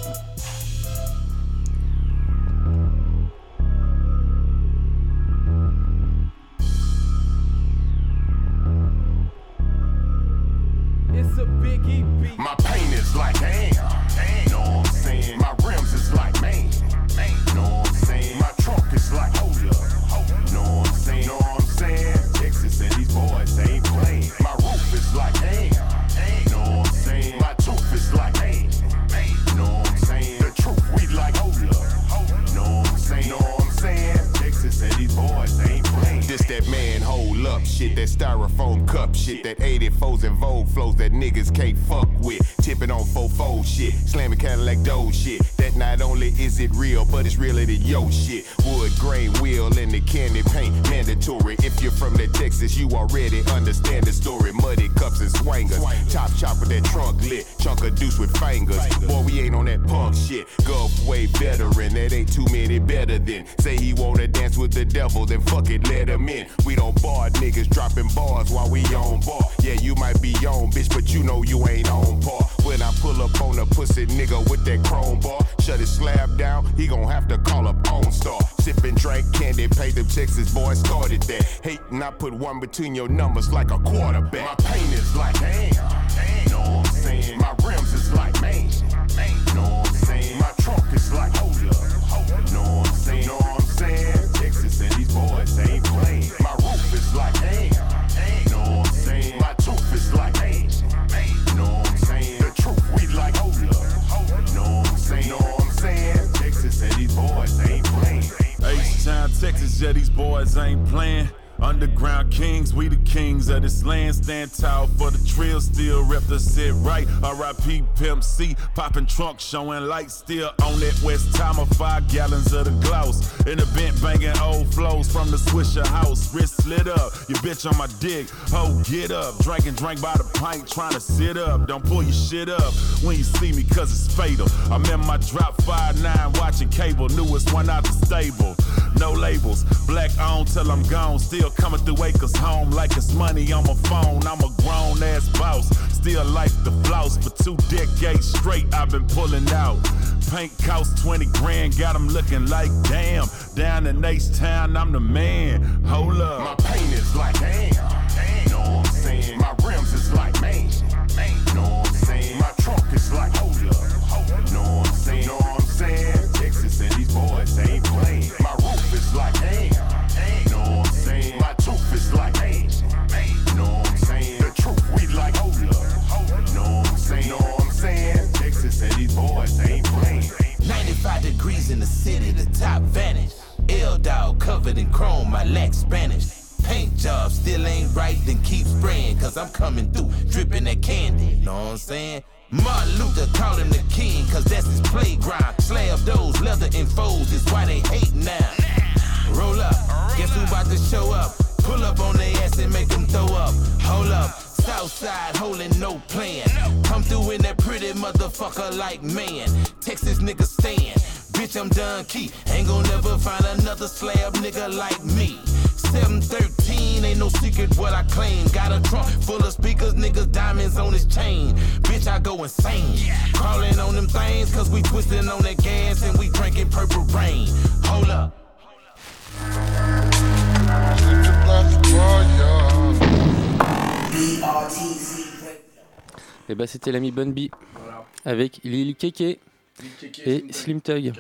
My pain is like damn. styrofoam cup shit. That eighty-fours and Vogue flows that niggas can't fuck with. Tipping on fofo shit, slamming Cadillac Doe shit. That not only is it real, but it's realer than yo shit. Wood grain wheel and the candy paint mandatory. If you're from the Texas, you already understand the story. Muddy cups and swangers, top chop with that trunk lit, chunk of deuce with fingers. Boy, we ain't on that punk shit. Gulf way veteran, that ain't too many better than. Say he wanna dance with the devil, then fuck it, let him in. We don't bar niggas dropping bars while we on bar. Yeah, you might be on, bitch, but you know you ain't on par. When I pull up on a pussy nigga with that chrome bar, shut his slab down, he gon' have to call up OnStar. Sippin' drink candy, pay them Texas boys started that. Hatin', I put one between your numbers like a quarterback. My pain is like damn, damn, know what I'm saying? My rims is like man, man, know what I'm saying? My trunk is like hold up, hold up, know what I'm saying? Know what I'm saying? Texas and these boys they ain't playing. My roof is like damn, damn, know what I'm saying? My tooth is like man, man, know what I'm saying? The truth we like hold up, hold up, know what I'm saying? Know what I'm saying? Texas and these boys they ain't playing. H-Town, Texas, yeah, these boys ain't playing. Underground kings, we the kings of this land. Stand tall for the trail, still rep the sit right. R I P Pimp C, popping trunk, showing light. Still on that West Timer, five gallons of the gloss. In the bent banging old flows from the Swisher house. Wrist slit up, your bitch on my dick. Ho, get up, drinking drink by the pint, trying to sit up. Don't pull your shit up when you see me, cause it's fatal. I'm in my drop five nine, watching cable. Newest one out the stable. No labels, black on till I'm gone. Still coming through acres home like it's money on my phone. I'm a grown ass boss, still like the floss. For two decades straight, I've been pulling out. Paint cost twenty grand, got them looking like damn. Down in H-Town, I'm the man. Hold up. My paint is like damn, damn. Know what I'm saying? My rims is like man, man. Know what I'm saying? My trunk is like hold up, hold up. Know what I'm saying? Know what I'm saying? Texas and these boys they ain't playing. My roof is like damn, damn. Know what I'm saying? My tooth is like man, man. Know what I'm saying? The truth we like hold up, hold up. Know what I'm saying? Know what I'm saying? Texas and these boys they ain't playing. ninety-five degrees in the city, the top vanish. L-Dog covered in chrome, I lack Spanish. Paint job still ain't right, then keep spraying. Cause I'm coming through, dripping that candy, know what I'm saying? Martin Luther called him the king, cause that's his playground. Slab those leather infos, is why they hate now. Roll up, guess who about to show up? Pull up on their ass and make them throw up. Hold up, Southside holding no plan. Come through in that pretty motherfucker like man. Texas nigga stand, bitch I'm done key. Ain't gon' never find another slab nigga like me. seven thirteen, ain't no secret what I claim. Got a trunk full of speakers, niggas diamonds on his chain. Bitch I go insane, crawling on them things. Cause we twisting on that gas and we drinking purple rain. Hold up. Et bah c'était l'ami Bun B voilà. Avec Lil Keke et Slim Thug.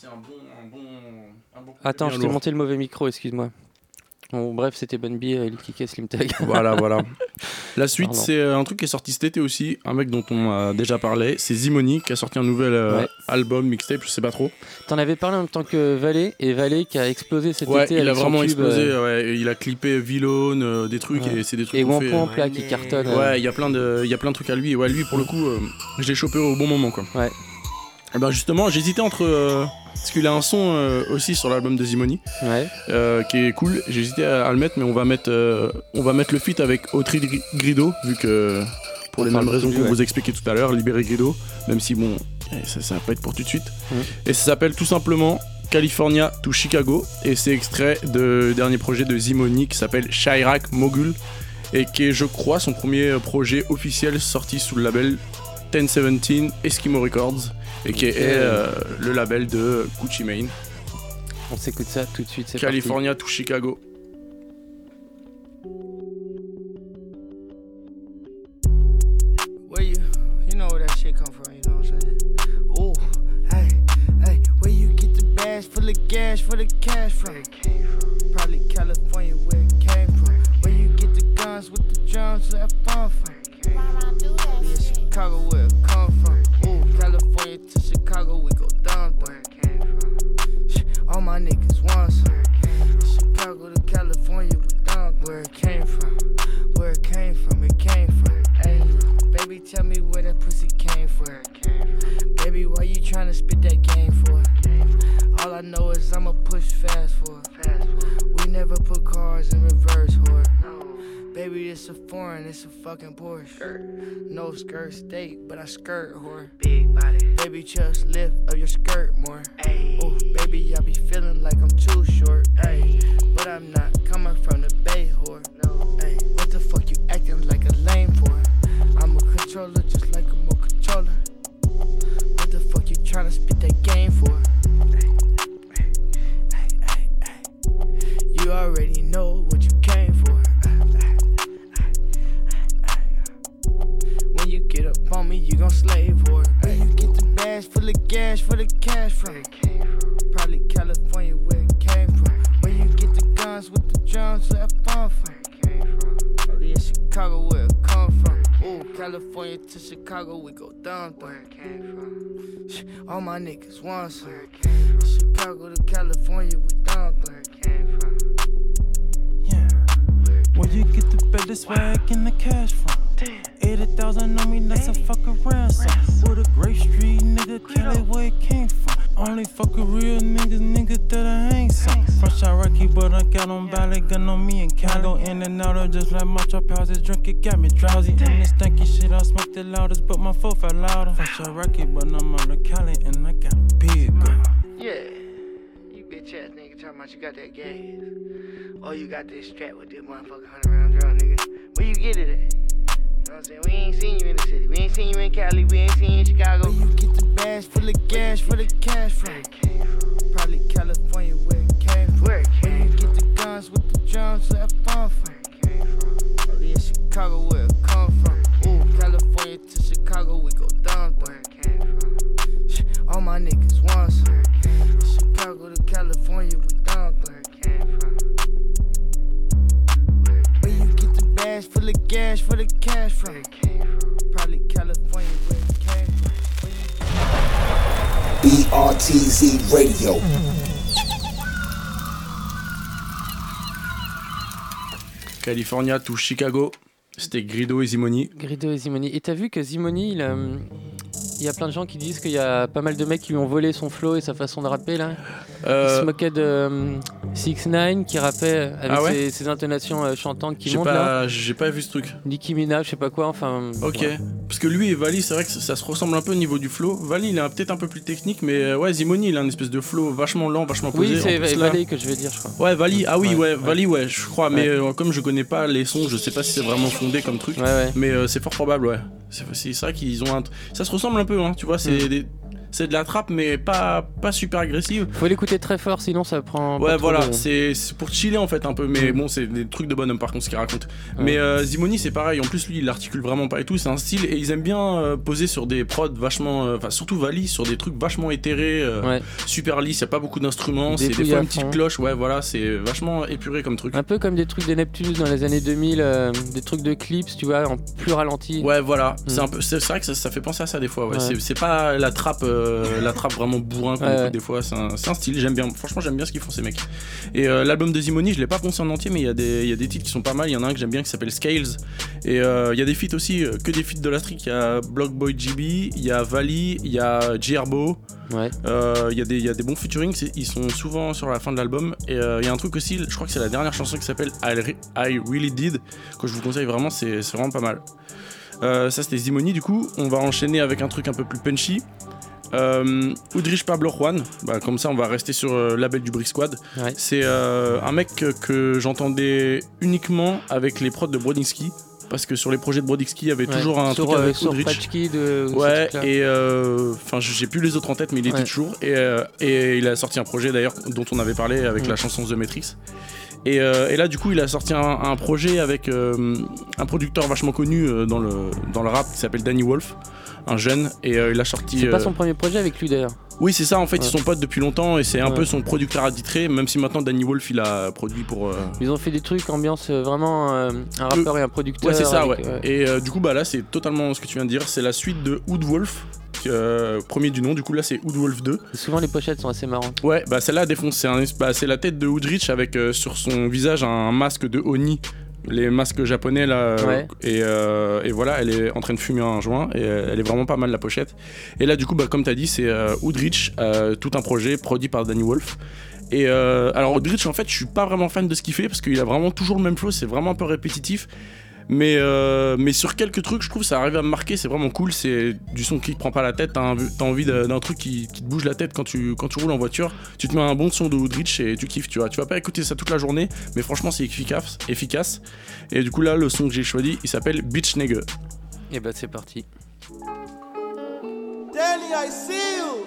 Attends, je t'ai monté le mauvais micro, excuse-moi. Bon, bref, c'était Bun B, Lil Keke et Slim Thug. Voilà, voilà. La suite, Pardon. c'est un truc qui est sorti cet été aussi, un mec dont on a déjà parlé, c'est Zimony qui a sorti un nouvel euh, ouais. album, mixtape, je sais pas trop. T'en avais parlé en même temps que Valet, et Valet qui a explosé cet ouais, été. Il avec a vraiment son explosé, euh... ouais. Il a clippé Vylone, euh, des trucs, ouais. et c'est des trucs. Et One Point en plat qui cartonne. Ouais, euh... il y a plein de, il y a plein de trucs à lui, et ouais, lui pour le coup, euh, je l'ai chopé au bon moment quoi. Ouais. Et ben justement, j'hésitais entre. Euh, parce qu'il a un son euh, aussi sur l'album de Zimony, ouais. euh, qui est cool. J'hésitais à, à le mettre, mais on va mettre, euh, on va mettre le feat avec Autry Grido, vu que pour les mêmes raisons qu'on ouais. vous expliquait tout à l'heure, libérer Grido, même si bon, ça, ça va pas être pour tout de suite. Mmh. Et ça s'appelle tout simplement California to Chicago, et c'est extrait du dernier projet de Zimony qui s'appelle Chirac Mogul, et qui est, je crois, son premier projet officiel sorti sous le label dix dix-sept Eskimo Records, et qui est euh, le label de Gucci Mane. On s'écoute ça tout de suite, c'est California parti. to Chicago. Where you, you know where that shit come from, you know what I'm saying? Ooh, hey, hey, where you get the bags full of gas for the cash from? Probably California, where it came from. Where you get the guns with the drums that fun from? We in Chicago, where it come from? Ooh, California to Chicago, we go down, where it came from. All my niggas want some. Chicago to California, we down, where it came from. tell me where that pussy came from. Baby, why you tryna spit that game for? All I know is I'ma push fast for. We never put cars in reverse, whore. Baby, it's a foreign, it's a fucking Porsche. No skirt state, but I skirt, whore. Big body. Baby, just lift up your skirt more. Oh, baby, I be feeling like I'm too short. Ay, but I'm not coming from the Bay, whore. Ay, what the fuck you acting like a lame for? I'm a controller just like a mo controller. What the fuck you tryna spit that game for? Ay, ay, ay, ay. You already know what you came for. When you get up on me, you gon' slave for it. Ay, you get the bags full of gas for the cash from. Probably California where it came from. Where you get the guns with the drums to have fun from. Probably in Chicago where it come from. Ooh, California to Chicago, we go down where it came from. All my niggas want some. Chicago to California, we down where it came from. Yeah. Where you get the better swag and the cash from? eighty thousand on me, that's a fucking ransom. With a Grape Street nigga, Cali where it came from. Only fuck a real niggas, nigga that I ain't some. Fresh out Rocky, but I got on Bali, gun on me and Cali. Go in and out of just like my trap houses, drink it got me drowsy. And this stanky shit, I smoke the loudest, but my foot fell louder. Fresh out Rocky, but I'm out of Cali and I got a big girl. Yeah, you bitch ass nigga talking about you got that gas. Or you got this strap with this motherfucker hundred round drum, nigga. Where you get it at? You know what I'm saying? We ain't seen you in the city. We ain't seen you in Cali. We ain't seen you in Chicago. Where you get the bags full of gas for the cash from? Probably California where it came from. Where you get the guns with the drums to have fun from? Probably in Chicago where it come from. Ooh, California to Chicago, we go down where it came from. All my niggas want some. Chicago to California, we down where it came from. Where you get the bags full of gas for the cash from? Probably California where it came from. B R T Z Radio. California to Chicago, c'était Grido et Zimoni. Grido et Zimoni. Et t'as vu que Zimoni, il a, il y a plein de gens qui disent qu'il y a pas mal de mecs qui lui ont volé son flow et sa façon de rapper là. Euh... Il se moquait de um, six neuf qui rappait avec ah ouais ses, ses intonations euh, chantantes qui j'ai montent pas, là. J'ai pas vu ce truc. Nicki Minaj, je sais pas quoi, enfin. Ok. Ouais. Parce que lui et Vali, c'est vrai que ça se ressemble un peu au niveau du flow. Vali, il est peut-être un peu plus technique, mais ouais, Zimoni, il a une espèce de flow vachement lent, vachement posé. Oui, c'est v- Vali que je vais dire, je crois. Ouais, Vali, ah oui, ouais, ouais, ouais. Vali, ouais, je crois, ouais. mais euh, comme je connais pas les sons, je sais pas si c'est vraiment fondé comme truc, ouais, ouais. mais euh, c'est fort probable, ouais. C'est, c'est ça qu'ils ont un. Ça se ressemble un peu, hein, tu vois, c'est mm. des. C'est de la trappe, mais pas, pas super agressive. Faut l'écouter très fort, sinon ça prend. Ouais, pas voilà, trop de... c'est, c'est pour chiller en fait un peu, mais mmh. bon, c'est des trucs de bonhomme par contre ce qu'il raconte. Ouais. Mais euh, Zimoni, c'est pareil, en plus lui il articule vraiment pas et tout, c'est un style, et ils aiment bien euh, poser sur des prods vachement. Enfin, euh, surtout Vali, sur des trucs vachement éthérés, euh, ouais. super lisses, y a pas beaucoup d'instruments, des c'est des fois une petite cloche, ouais, voilà, c'est vachement épuré comme truc. Un peu comme des trucs des Neptunus dans les années deux mille, euh, des trucs de clips, tu vois, en plus ralenti. Ouais, voilà, mmh. c'est, un peu, c'est, c'est vrai que ça, ça fait penser à ça des fois, ouais. Ouais. C'est, c'est pas la trappe, euh, la trappe vraiment bourrin comme ouais, ouais. des fois, c'est un, c'est un style, j'aime bien, franchement j'aime bien ce qu'ils font ces mecs. Et euh, l'album de Zimoni, je l'ai pas poncé en entier, mais il y a des il y a des titres qui sont pas mal, il y en a un que j'aime bien qui s'appelle Scales, et il euh, y a des feats aussi, que des feats de la street, il y a Blockboy G B, il y a Vali, il y a J Herbo, ouais. euh, il y a des il y a des bons featuring, ils sont souvent sur la fin de l'album, et il euh, y a un truc aussi, je crois que c'est la dernière chanson qui s'appelle I, Re- I Really Did, que je vous conseille vraiment, c'est, c'est vraiment pas mal. Euh, ça c'était Zimoni, du coup on va enchaîner avec un truc un peu plus punchy. Euh, Udrich Pablo Juan, bah, comme ça on va rester sur le euh, label du Brick Squad. Ouais. C'est euh, un mec que, que j'entendais uniquement avec les prods de Brodinski, parce que sur les projets de Brodinski il y avait ouais. toujours un sur, truc avec euh, Udrich. De, ouais, et enfin euh, j'ai plus les autres en tête, mais il était ouais. toujours. Et, euh, et il a sorti un projet d'ailleurs dont on avait parlé avec mmh. la chanson The Matrix. Et, euh, et là du coup il a sorti un, un projet avec euh, un producteur vachement connu euh, dans, le, dans le rap qui s'appelle Danny Wolf, un jeune, et euh, il a sorti... C'est euh... pas son premier projet avec lui d'ailleurs. Oui c'est ça en fait, ouais. Ils sont potes depuis longtemps et c'est un ouais. peu son producteur attitré, même si maintenant Danny Wolf il a produit pour... Euh... Ils ont fait des trucs ambiance vraiment euh, un rappeur euh... et un producteur. Ouais c'est ça avec, ouais. ouais. Et euh, du coup bah là c'est totalement ce que tu viens de dire, c'est la suite de Oud Wolf. Euh, premier du nom, du coup là c'est Oud Wolf deux. Et souvent les pochettes sont assez marrantes. Ouais, bah celle-là défonce, c'est, un, bah, c'est la tête de Udrich avec euh, sur son visage un masque de Oni les masques japonais là. Ouais. Et, euh, et voilà, elle est en train de fumer un joint et euh, elle est vraiment pas mal la pochette. Et là, du coup, bah, comme t'as dit, c'est euh, Woodrich, euh, tout un projet produit par Danny Wolf. Et euh, alors, Woodrich, en fait, je suis pas vraiment fan de ce qu'il fait parce qu'il a vraiment toujours le même flow, c'est vraiment un peu répétitif. Mais, euh, mais sur quelques trucs, je trouve ça arrive à me marquer, c'est vraiment cool. C'est du son qui te prend pas la tête, t'as, un, t'as envie d'un truc qui, qui te bouge la tête quand tu, quand tu roules en voiture. Tu te mets un bon son de Woodrich et tu kiffes, tu vois. Tu vas pas écouter ça toute la journée, mais franchement, c'est efficace. efficace. Et du coup, là, le son que j'ai choisi, il s'appelle Bitch Nigga. Et bah, c'est parti. Danny, I see you.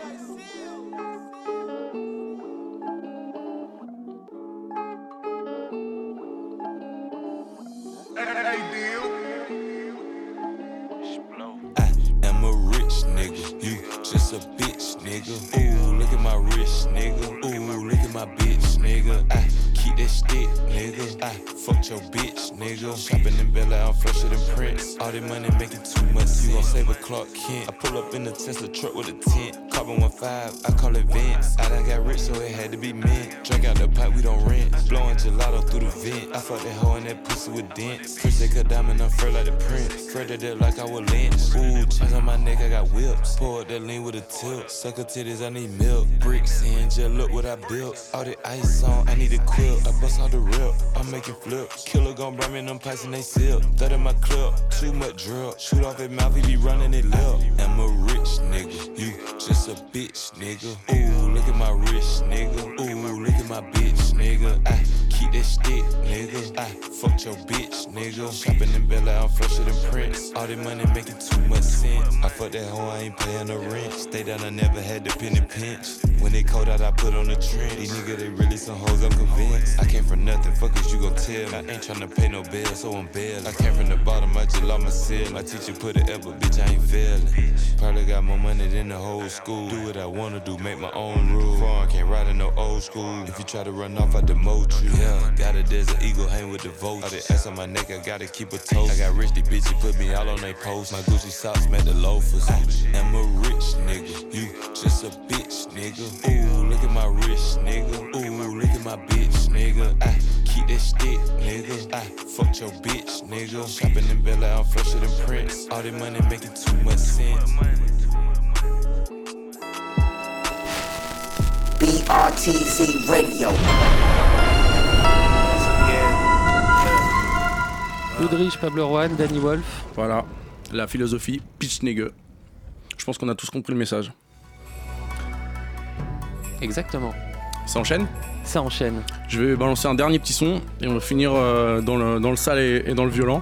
I am a rich nigga, you just a bitch nigga. Ooh, look at my wrist nigga. Ooh, look at my bitch nigga. I keep that stick nigga. I fucked your bitch nigga. Shopping in Bella, I'm flusher than Prince. All that money making too much. You gon' save a Clark Kent. I pull up in the Tesla truck with a tent. Carbon one five, I call it Vince. I done got rich, so it had to be mint. Drink out the pipe, we don't rent. Blowing gelato through the vent. I fucked that hoe in that pussy with dents. Chris take a diamond, I'm fur like the Prince. Fred did it like I was Lynch. Ooh, chains on my neck, I got whips. Pour up that lean with a tilt. Sucker titties, I need milk. Bricks in, just look what I built. All the ice on, I need a quilt. I bust all the rip, I'm making flips. Killer gon' bring me them pipes and they sip. Third in my clip, too much drip. Shoot off his mouth, he be running it lip. I'm a rich nigga, you just a bitch nigga. Ooh, look at my wrist nigga. Ooh, look at my bitch nigga. I keep that stick nigga. I fucked your bitch nigga. Shopping in Bella, I'm flusher than Prince. All that money making too much sense. I fuck that hoe, I ain't paying the rent. Stay down, I never had the penny pinch. When they cold out, I put on the trend. These niggas, they really some hoes, I'm convinced. I came from nothing, fuck is you gon' tell me. I ain't tryna pay no bill, so I'm bail. I came from the bottom, I just lost my seal. My teacher put it up, but bitch, I ain't failing. Probably got more money than the whole school. Do what I wanna do, make my own rules. Foreign, can't ride in no old school. If you try to run off, I demote you. Yeah, got a desert eagle, hang with the vultures. All the ass on my neck, I gotta keep a toast. I got rich, these bitches put me all on they posts. My Gucci socks met the loafers. I am a rich nigga, you just a bitch nigga. Ooh, look at my wrist nigga. Ooh, look at my bitch nigga. I keep that stick nigga. I fucked your bitch nigga. Shopping in Bella, I'm flusher than Prince. All that money making too much sense. B R T Z Radio. Woodrich, Pablo Juan, Danny Wolf. Voilà, la philosophie Bitch Nigga. Je pense qu'on a tous compris le message. Exactement. Ça enchaîne ? Ça enchaîne. Je vais balancer un dernier petit son et on va finir euh, dans, le, dans le sale et, et dans le violent.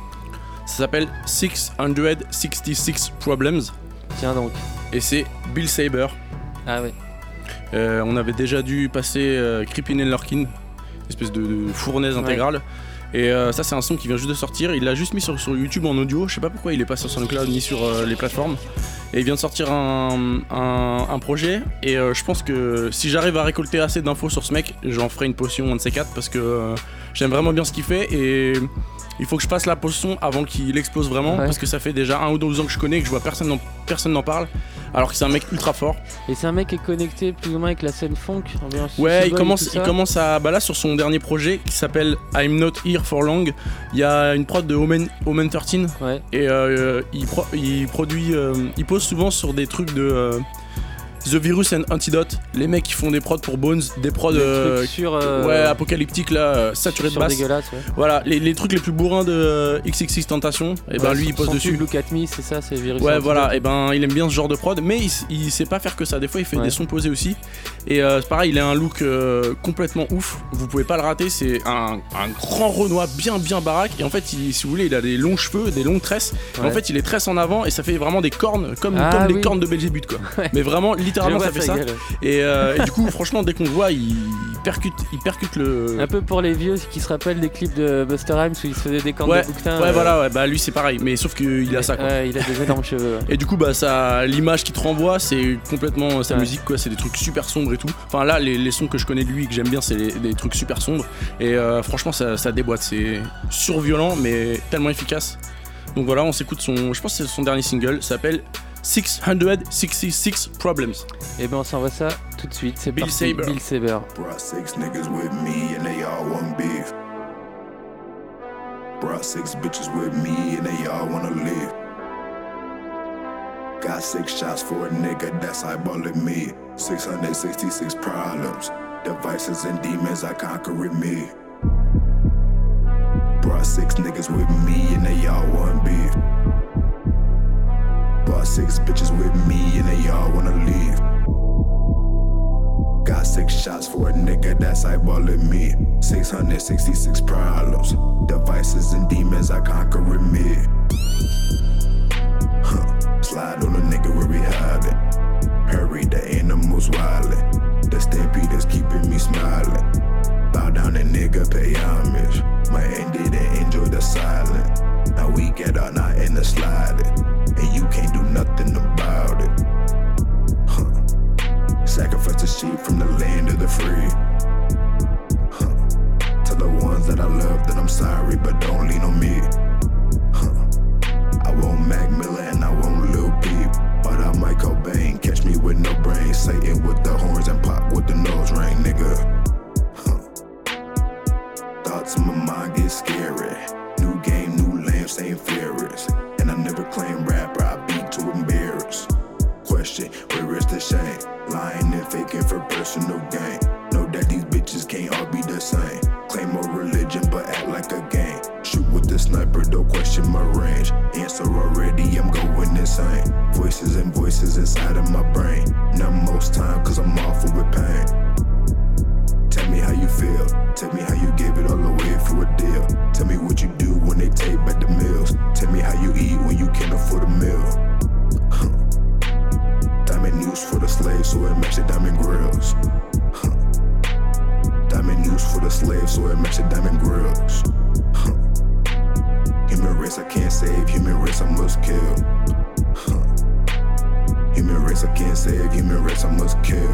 Ça s'appelle six cent soixante-six Problems. Tiens donc. Et c'est Bill Saber. Ah ouais. Euh, on avait déjà dû passer euh, Creepin' and Lurkin, une espèce de, de fournaise intégrale. Ouais. Et euh, ça c'est un son qui vient juste de sortir. Il l'a juste mis sur, sur YouTube en audio. Je sais pas pourquoi il est pas sur SoundCloud ni sur euh, les plateformes. Et il vient de sortir un, un, un projet. Et euh, je pense que si j'arrive à récolter assez d'infos sur ce mec, j'en ferai une potion, un de ces quatre, parce que euh, j'aime vraiment bien ce qu'il fait. Et il faut que je passe la potion avant qu'il explose vraiment, ouais. Parce que ça fait déjà un ou deux ans que je connais, que je vois personne n'en, personne n'en parle. Alors que c'est un mec ultra fort. Et c'est un mec qui est connecté plus ou moins avec la scène funk. Ouais, il commence, il commence à. Bah là, sur son dernier projet qui s'appelle I'm Not Here for Long, il y a une prod de Omen, Omen treize. Ouais. Et euh, il, pro, il produit. Euh, il pose souvent sur des trucs de. Euh, The Virus and Antidote, les mecs qui font des prods pour Bones, des prods euh, sur, euh, ouais, apocalyptiques là, euh, saturés de basse. Ouais. Voilà, les, les trucs les plus bourrins de euh, X X X Tentation, et ouais, ben lui il pose dessus. Look at Me, c'est ça, c'est Virus. Ouais, voilà, et ben il aime bien ce genre de prod, mais il, il sait pas faire que ça. Des fois il fait ouais. des sons posés aussi. Et euh, c'est pareil, il a un look euh, complètement ouf. Vous pouvez pas le rater. C'est un, un grand Renoir bien bien baraque. Et en fait, il, si vous voulez, il a des longs cheveux, des longues tresses. Ouais. Et en fait, il les tresse en avant et ça fait vraiment des cornes comme, ah, comme oui. les cornes de Belzébuth quoi. Ouais. Mais vraiment, littéralement, ça fait ça. Gueule. Et, euh, et du coup, franchement, dès qu'on le voit, il percute, il percute le. Un peu pour les vieux qui se rappellent des clips de Buster Rhymes où il se faisait des cornes ouais, de bouquetin. Ouais, euh... voilà, ouais, bah lui c'est pareil, mais sauf qu'il a ça quoi. Ouais, il a des énormes cheveux. Ouais. Et du coup, bah ça, l'image qu'il te renvoie, c'est complètement sa ouais. musique quoi. C'est des trucs super sombres et tout. Enfin là, les, les sons que je connais de lui et que j'aime bien, c'est les, des trucs super sombres. Et euh, franchement, ça, ça déboîte. C'est surviolent, mais tellement efficace. Donc voilà, on s'écoute son. Je pense que c'est son dernier single. Ça s'appelle six cent soixante-six Problems. Et ben on s'envoie ça tout de suite, c'est Bill parti, Saber. Bill Saber. Brought six niggas with me and they all want beef. Brought six bitches with me and they all wanna live. Got six shots for a nigga that's eyeballing me. six hundred sixty-six problems, devices and demons I conquer with me. Brought six niggas with me and they all want beef. Brought six bitches with me and they all wanna leave. Got six shots for a nigga that's eyeballing me. six hundred sixty-six problems, devices and demons I conquer with me. Huh. Slide on a nigga where we hiding. Hurry, the animals wildin'. The stampede is keeping me smiling. Bow down and nigga pay homage. My end did and enjoy the silence. Now we get out, not in the sliding. And you can't do nothing about it. Huh. Sacrifice the sheep from the land of the free. Huh. Tell the ones that I love that I'm sorry, but don't lean on me. Huh. I won't Mac Miller and I won't Lil Peep. But I might Cobain, catch me with no brain. Satan with the horns and pop with the nose ring, nigga. Huh. Thoughts in my mind get scary. New game, new lamp, same furious. And I never claim rapper, I beat to embarrass. Question, where is the shame? Lying and faking for personal gain. Know that these bitches can't all be the same. Claim more religion but act like a game. Shoot with the sniper, don't question my range. Answer already, I'm going insane. Voices and voices inside of my brain. Not most time, cause I'm awful with pain. Tell me how you feel. Tell me how you gave it all away for a deal. Tell me what you do when they take back the meals. Tell me how you eat when you can't afford a meal. Huh. Diamond news for the slaves, so it match the diamond grills. Huh. Diamond news for the slaves, so it match the diamond grills. Huh. Human race I can't save, human race I must kill. Huh. Human race I can't save, human race I must kill.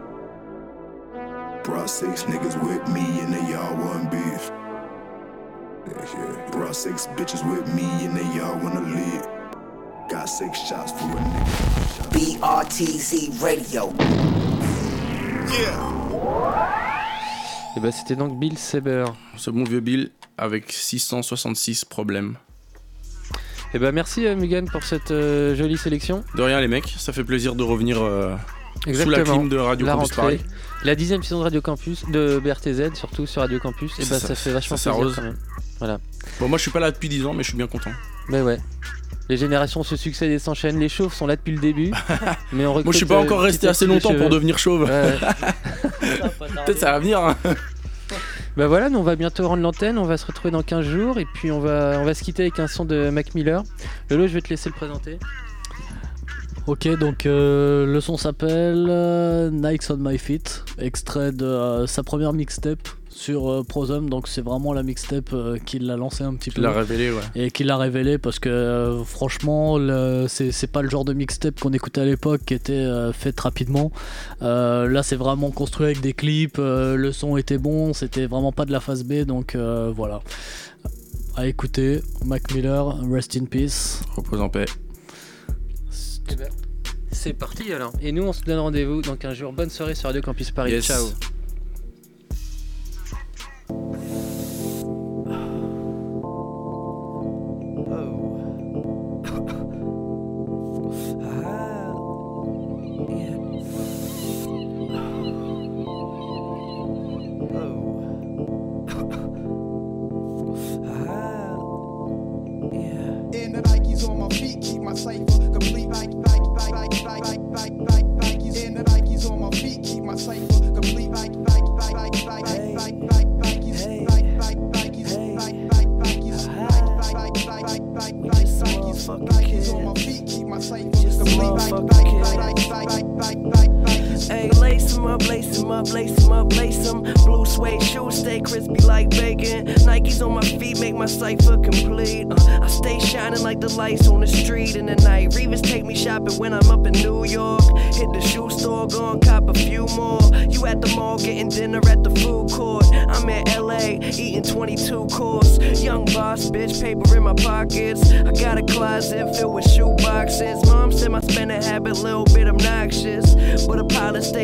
Brought six niggas with me and they all want beef. Yeah, yeah. Brought six bitches with me and they all wanna live. Got six shots for a nigga. B R T Z Radio. Yeah. Et bah c'était donc Bill Saber. Ce bon vieux Bill avec six cent soixante-six problèmes. Et bah merci euh, Mugan pour cette euh, jolie sélection. De rien les mecs, ça fait plaisir de revenir euh, sous la clim de Radio la Campus rentrée, Paris. La dixième saison de Radio Campus, de B R T Z surtout sur Radio Campus. Et bah ça, ça fait vachement ça plaisir quand même. Voilà. Bon moi je suis pas là depuis dix ans mais je suis bien content. Mais ouais. Les générations se succèdent et s'enchaînent. Les chauves sont là depuis le début. Mais on moi je suis pas encore resté assez longtemps pour devenir chauve. Ouais. Peut-être ça va venir. Hein. Bah voilà, nous on va bientôt rendre l'antenne. On va se retrouver dans quinze jours. Et puis on va, on va se quitter avec un son de Mac Miller. Lolo, je vais te laisser le présenter. Ok, donc euh, le son s'appelle euh, Nikes on My Feet. Extrait de euh, sa première mixtape sur euh, Prosum, donc c'est vraiment la mixtape euh, qui l'a lancé un petit peu. Qui l'a révélé, ouais. Et qui l'a révélé parce que euh, franchement, le, c'est, c'est pas le genre de mixtape qu'on écoutait à l'époque qui était euh, faite rapidement. Euh, là, c'est vraiment construit avec des clips, euh, le son était bon, c'était vraiment pas de la phase B, donc euh, voilà. À écouter, Mac Miller, Rest in Peace. Repose en paix. Eh ben, c'est parti alors. Et nous, on se donne rendez-vous dans quinze jours. Bonne soirée sur Radio Campus Paris. Yes. Ciao. Hey, lace 'em up, lace 'em up, lace 'em up, lace 'em. Blue suede shoes stay crispy like bacon. Nikes on my feet make my cipher complete. Uh, I stay shining like the lights on the street in the night. Revis take me shopping when I'm up in New York. Hit the shoe store, go and cop a few more. You at the mall getting dinner at the food court. I'm in L A eating twenty-two course. Young boss, bitch, paper in my pockets. I got a closet filled with shoe boxes. Mom said my spending habit a little bit obnoxious, but a pilot stay fresh.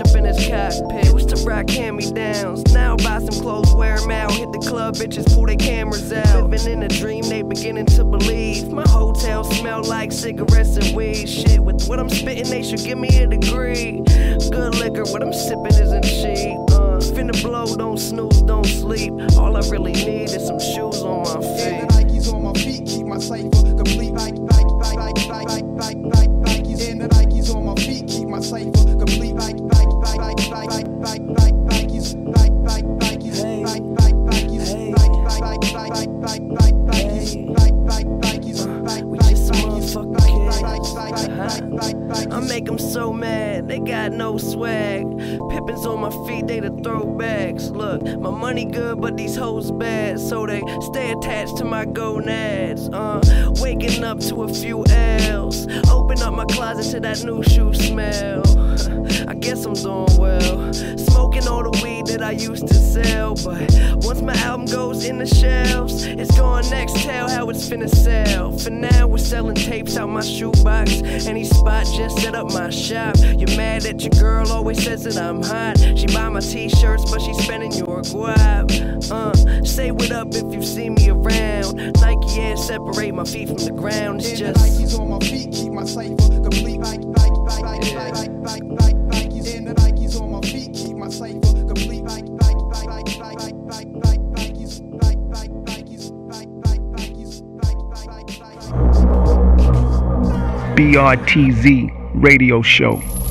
up in his cockpit. Used to rock hand-me-downs. Now buy some clothes, wear them out. Hit the club, bitches pull their cameras out. Living in a dream, they beginning to believe. My hotel smell like cigarettes and weed. Shit, with what I'm spitting, they should give me a degree. Good liquor, what I'm sipping isn't cheap. Uh, finna blow, don't snooze, don't sleep. All I really need is some shoes on my feet. And the Nikes on my feet keep my cipher complete. Like, like, like, like, like, like, like, like, Nikes. And the Nikes on my feet keep my cipher complete. Like, like, like, like, like, like, like, like, Nikes. Like, like, Nikes. Like, like, Nikes. Like, like, like, like, like, like, like, Nikes. Like, like, Nikes. Like, we just some motherfucking kids. I make them so mad, they got no swag. Pippins on my feet, they the throwbacks. Look, my money good, but these hoes bad, so they stay attached to my gonads. Uh, waking up to a few L's. Open up my closet to that new shoe smell. I guess I'm doing well. Smoking all the weed that I used to sell, but once my album goes in the shelves, it's going next. Tell how it's finna sell. For now, we're selling tapes out my shoebox. Any spot, just set up my shop. You're mad that your girl always says that I'm hot. She buy my t-shirts, but she's spending your guap. Uh, say what up if you see me around. Nike Air separate my feet from the ground. It's just Nikes on my feet keep my cipher complete. Like, like, like, like, like, like, like, Nikes. And the Nikes on my feet keep my cipher complete. Like, like, like, like, like, like, like, like, Nikes. Like, like, Nikes. Like, like, Nikes. Like, like, like, like. B R T Z Radio Show.